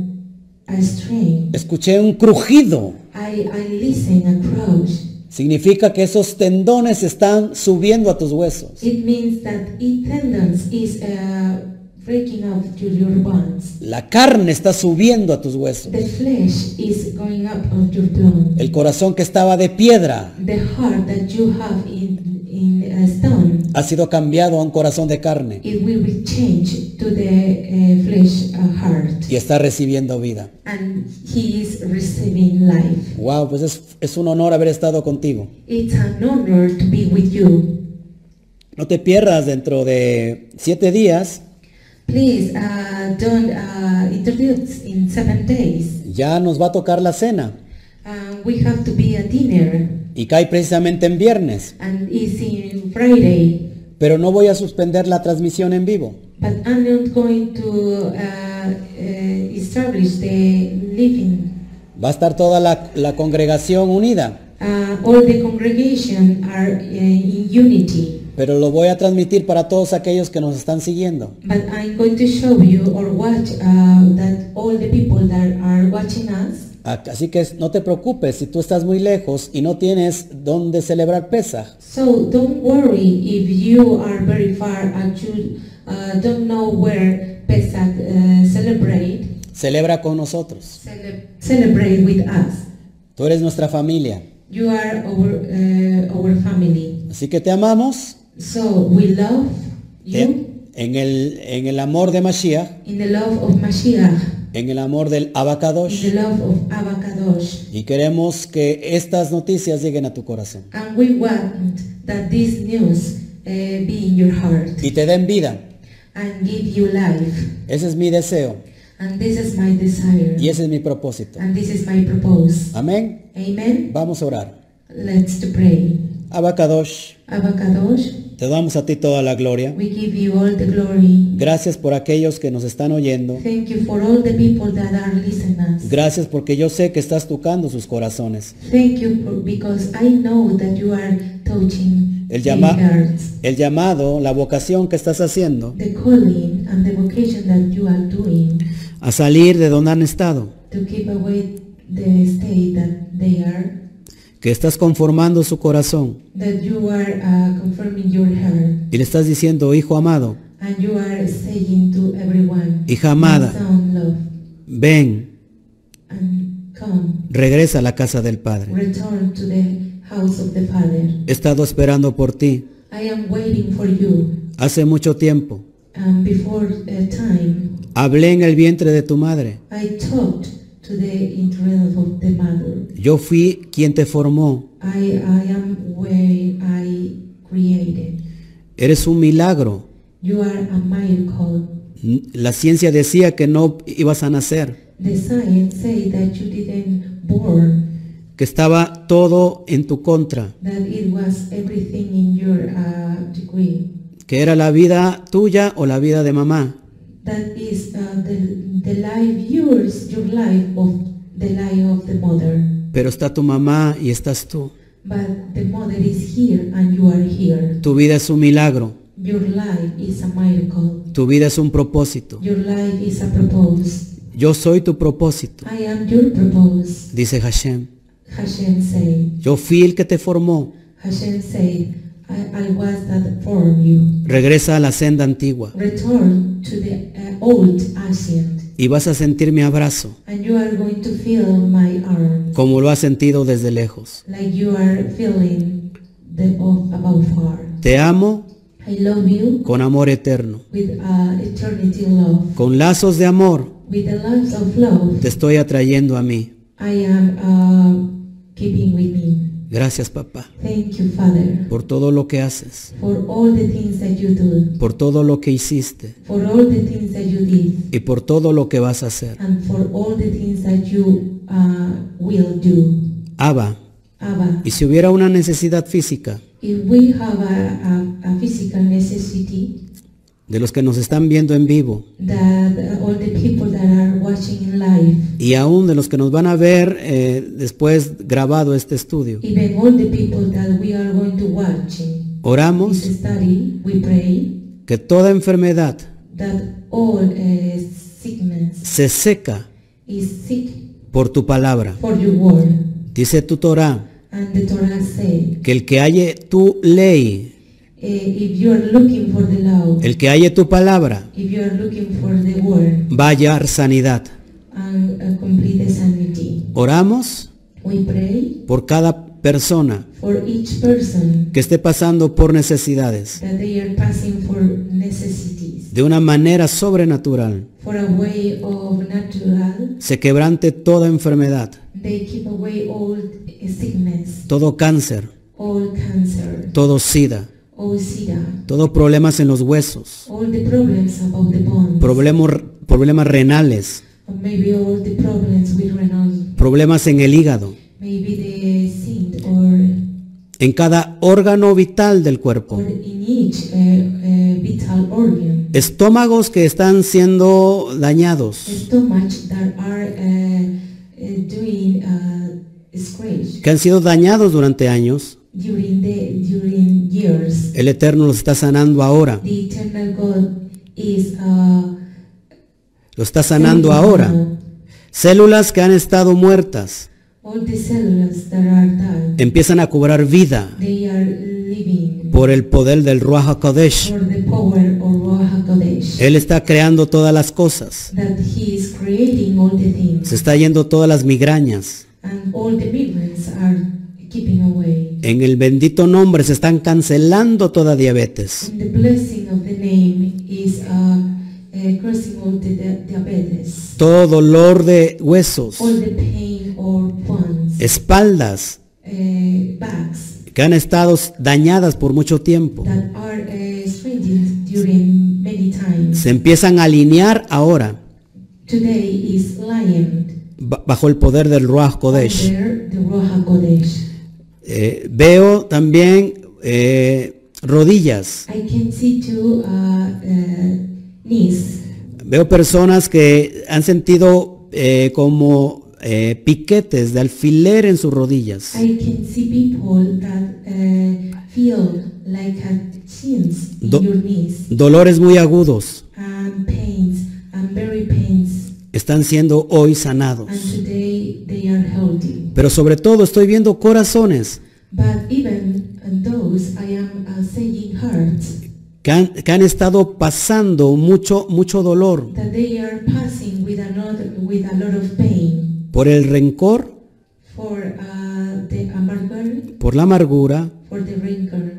a a string, escuché un crujido. I I listen a crouch. Significa que esos tendones están subiendo a tus huesos. It means that it tendons is uh, breaking out to your bones. La carne está subiendo a tus huesos. The flesh is going up of your bone. El corazón que estaba de piedra The heart that you have in in a stone, ha sido cambiado a un corazón de carne it will be changed to the uh, flesh uh, heart, y está recibiendo vida. and he is receiving life. Wow, pues es, es un honor haber estado contigo. It's an honor to be with you. No te pierdas dentro de siete días. Please uh, don't uh, introduce in seven days. Ya nos va a tocar la cena Uh, we have to be at dinner, y cae precisamente en viernes. and it's in Friday. Pero no voy a suspender la transmisión en vivo. But I'm not going to uh, uh, establish the living. Va a estar toda la, la congregación unida, Uh, all the congregation are uh, in unity. pero lo voy a transmitir para todos aquellos que nos están siguiendo. But I'm going to show you or watch uh, that all the people that are watching us. Así que no te preocupes si tú estás muy lejos y no tienes dónde celebrar Pesaj. So don't worry if you are very far and you uh, don't know where Pesach uh, celebrate. Celebra con nosotros. Cele- celebrate with us. Tú eres nuestra familia. You are our uh, our family. Así que te amamos. So we love you En, en el, en el amor de Mashiach, in the love of Mashiach, en el amor del in Abacadosh. the love of Abba Kadosh. Y queremos que estas noticias lleguen a tu corazón And we want that this news uh, be in your heart y te den vida. and give you life. Ese es mi deseo And this is my desire. y ese es mi propósito. And this is my purpose. Amén. Amen. Vamos a orar. Let's to pray. Abacadosh, Abba Kadosh, te damos a ti toda la gloria. we give you all the glory. Gracias por aquellos que nos están oyendo. Thank you for all the people that are listening us. Gracias porque yo sé que estás tocando sus corazones. Thank you for, because I know that you are touching El, their llama- hearts. el llamado, la vocación que estás haciendo The calling and the vocation that you are doing a salir de donde han estado, to keep away the state that they are, que estás conformando su corazón that you are uh, confirming your heart, y le estás diciendo, hijo amado, and you are saying to everyone, hija amada, "My son, love, ven, and come, regresa a la casa del Padre. return to the house of the Father. He estado esperando por ti I am waiting for you." hace mucho tiempo. And before a time, Hablé en el vientre de tu madre. I talked to the interest of the mother. Yo fui quien te formó. I, I am where I created. Eres un milagro. You are a miracle. La ciencia decía que no ibas a nacer, The science say that you didn't born, que estaba todo en tu contra, that it was everything in your uh, degree. que era la vida tuya o la vida de mamá. That is uh, the, the life yours, your life of the life of the mother. Pero está tu mamá y estás tú. But the mother is here and you are here. Tu vida es un milagro. Your life is a miracle. Tu vida es un propósito. Your life is a purpose. Yo soy tu propósito, I am your purpose, dice Hashem. Hashem said, yo fui el que te formó. Hashem said, I, I was that formed you. Regresa a la senda antigua Return to the uh, old ancient, y vas a sentir mi abrazo, and you are going to feel my arm, como lo has sentido desde lejos. like you are feeling the of about far. Te amo I love you con amor eterno. with uh, eternity love. Con lazos de amor With the loves of love, te estoy atrayendo a mí. I am uh, keeping with me. Gracias, papá, Thank you, Father, por todo lo que haces, for all the things that you do, por todo lo que hiciste for all the things that you did, y por todo lo que vas a hacer. and for all the things that you uh, will do. Abba, Abba, y si hubiera una necesidad física if we have a, a, a physical necessity, de los que nos están viendo en vivo that uh, all the people that are watching in live, y aún de los que nos van a ver eh, después grabado este estudio, even all the people that we are going to watch in oramos this study, we pray que toda enfermedad that all uh, sickness se seca is sick por tu palabra. for your word. Dice tu Torah And the Torah said, que el que halle tu ley, uh, if you are looking for the law, el que halle tu palabra, if you are looking for the word va a hallar sanidad. and uh, complete the sanity, Oramos we pray por cada persona for each person que esté pasando por necesidades that they are passing for necessities, de una manera sobrenatural. for a way of natural. Se quebrante toda enfermedad, They keep away all sickness, todo cáncer, all cancer, todo sida, all sida, todo problemas en los huesos, all the problems about the bones, problemas, problemas renales, or maybe all the problems with renal, problemas en el hígado, maybe the seed or en cada órgano vital del or cuerpo. in each uh, uh, vital organ, Estómagos que están siendo dañados, stomach that are uh, uh, doing uh, scratch que han sido dañados durante años. during the during years. El Eterno los está sanando ahora, The eternal God is uh, lo está sanando ahora. Células que han estado muertas all the cells that are dead, empiezan a cobrar vida they are living por el poder del Ruach HaKodesh. for the power of Ruach HaKodesh. Él está creando todas las cosas. That He is creating all the things, Se está yendo todas las migrañas. and all the migrants are keeping away. En el bendito nombre se están cancelando toda diabetes. And the blessing of the name is uh, uh, crossing all the di- diabetes, Todo dolor de huesos, all the pain or bones, espaldas uh, backs que han estado dañadas por mucho tiempo. that are uh, strengthened during many times. Se empiezan a alinear ahora Today is lying ba- bajo el poder del Ruach Kodesh. under the Ruach HaKodesh. Eh, veo también eh, rodillas. I can see two uh, uh, knees. Veo personas que han sentido eh, como eh, piquetes de alfiler en sus rodillas. I can see people that uh, feel like a chins in Do- your knees Dolores muy agudos and pains and very pains, están siendo hoy sanados. and today they are healthy. Pero sobre todo estoy viendo corazones But even those I am uh, saying hearts que han, que han estado pasando mucho, mucho dolor that they are passing with another with a lot of pain por el rencor, for uh, the amargor, por la amargura, for the rancor,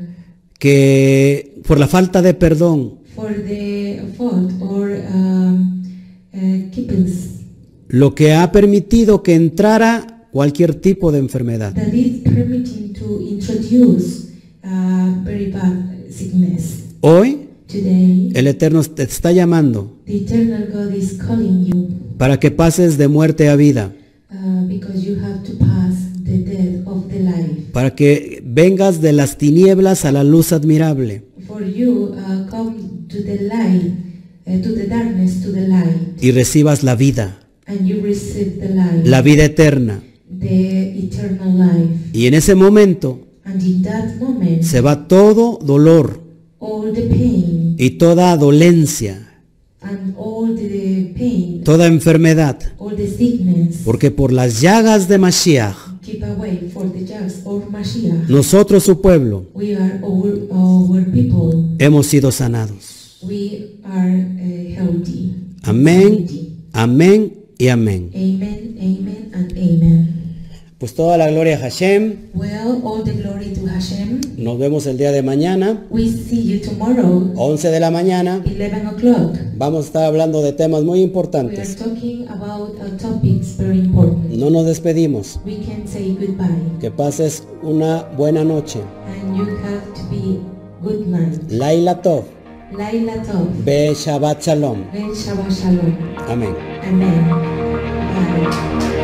que por la falta de perdón, for the fault or um, uh, keepers lo que ha permitido que entrara cualquier tipo de enfermedad. that is permitting to introduce uh, very bad sickness. Hoy Today, el Eterno te está llamando the eternal God is calling you para que pases de muerte a vida, uh, because you have to pass the death of the life. para que vengas de las tinieblas a la luz admirable For you uh, come to the light, uh, to the darkness, to the light, y recibas la vida, and you receive the light, la vida eterna. the eternal life. Y en ese momento And in that moment, se va todo dolor all the pain y toda dolencia, and all the pain, toda enfermedad, all the sickness, porque por las llagas de Mashiach keep away for the just or Mashiach. Nosotros, su pueblo, We are our, our people. hemos sido sanados. We are uh, healthy. Amén, amén y amén. Amen, amen, and amen. Pues toda la gloria a Hashem. Well, all the glory to Hashem. Nos vemos el día de mañana, We see you tomorrow, once de la mañana. eleven o'clock. Vamos a estar hablando de temas muy We are importantes. talking about uh, topics very important. No nos despedimos. We can say goodbye, Que pases una buena noche. and you have to be good night. Laila Tov. Laila Tov. Be Shabbat Shalom. Ben Shabbat Shalom. Amén. Amen. Bye.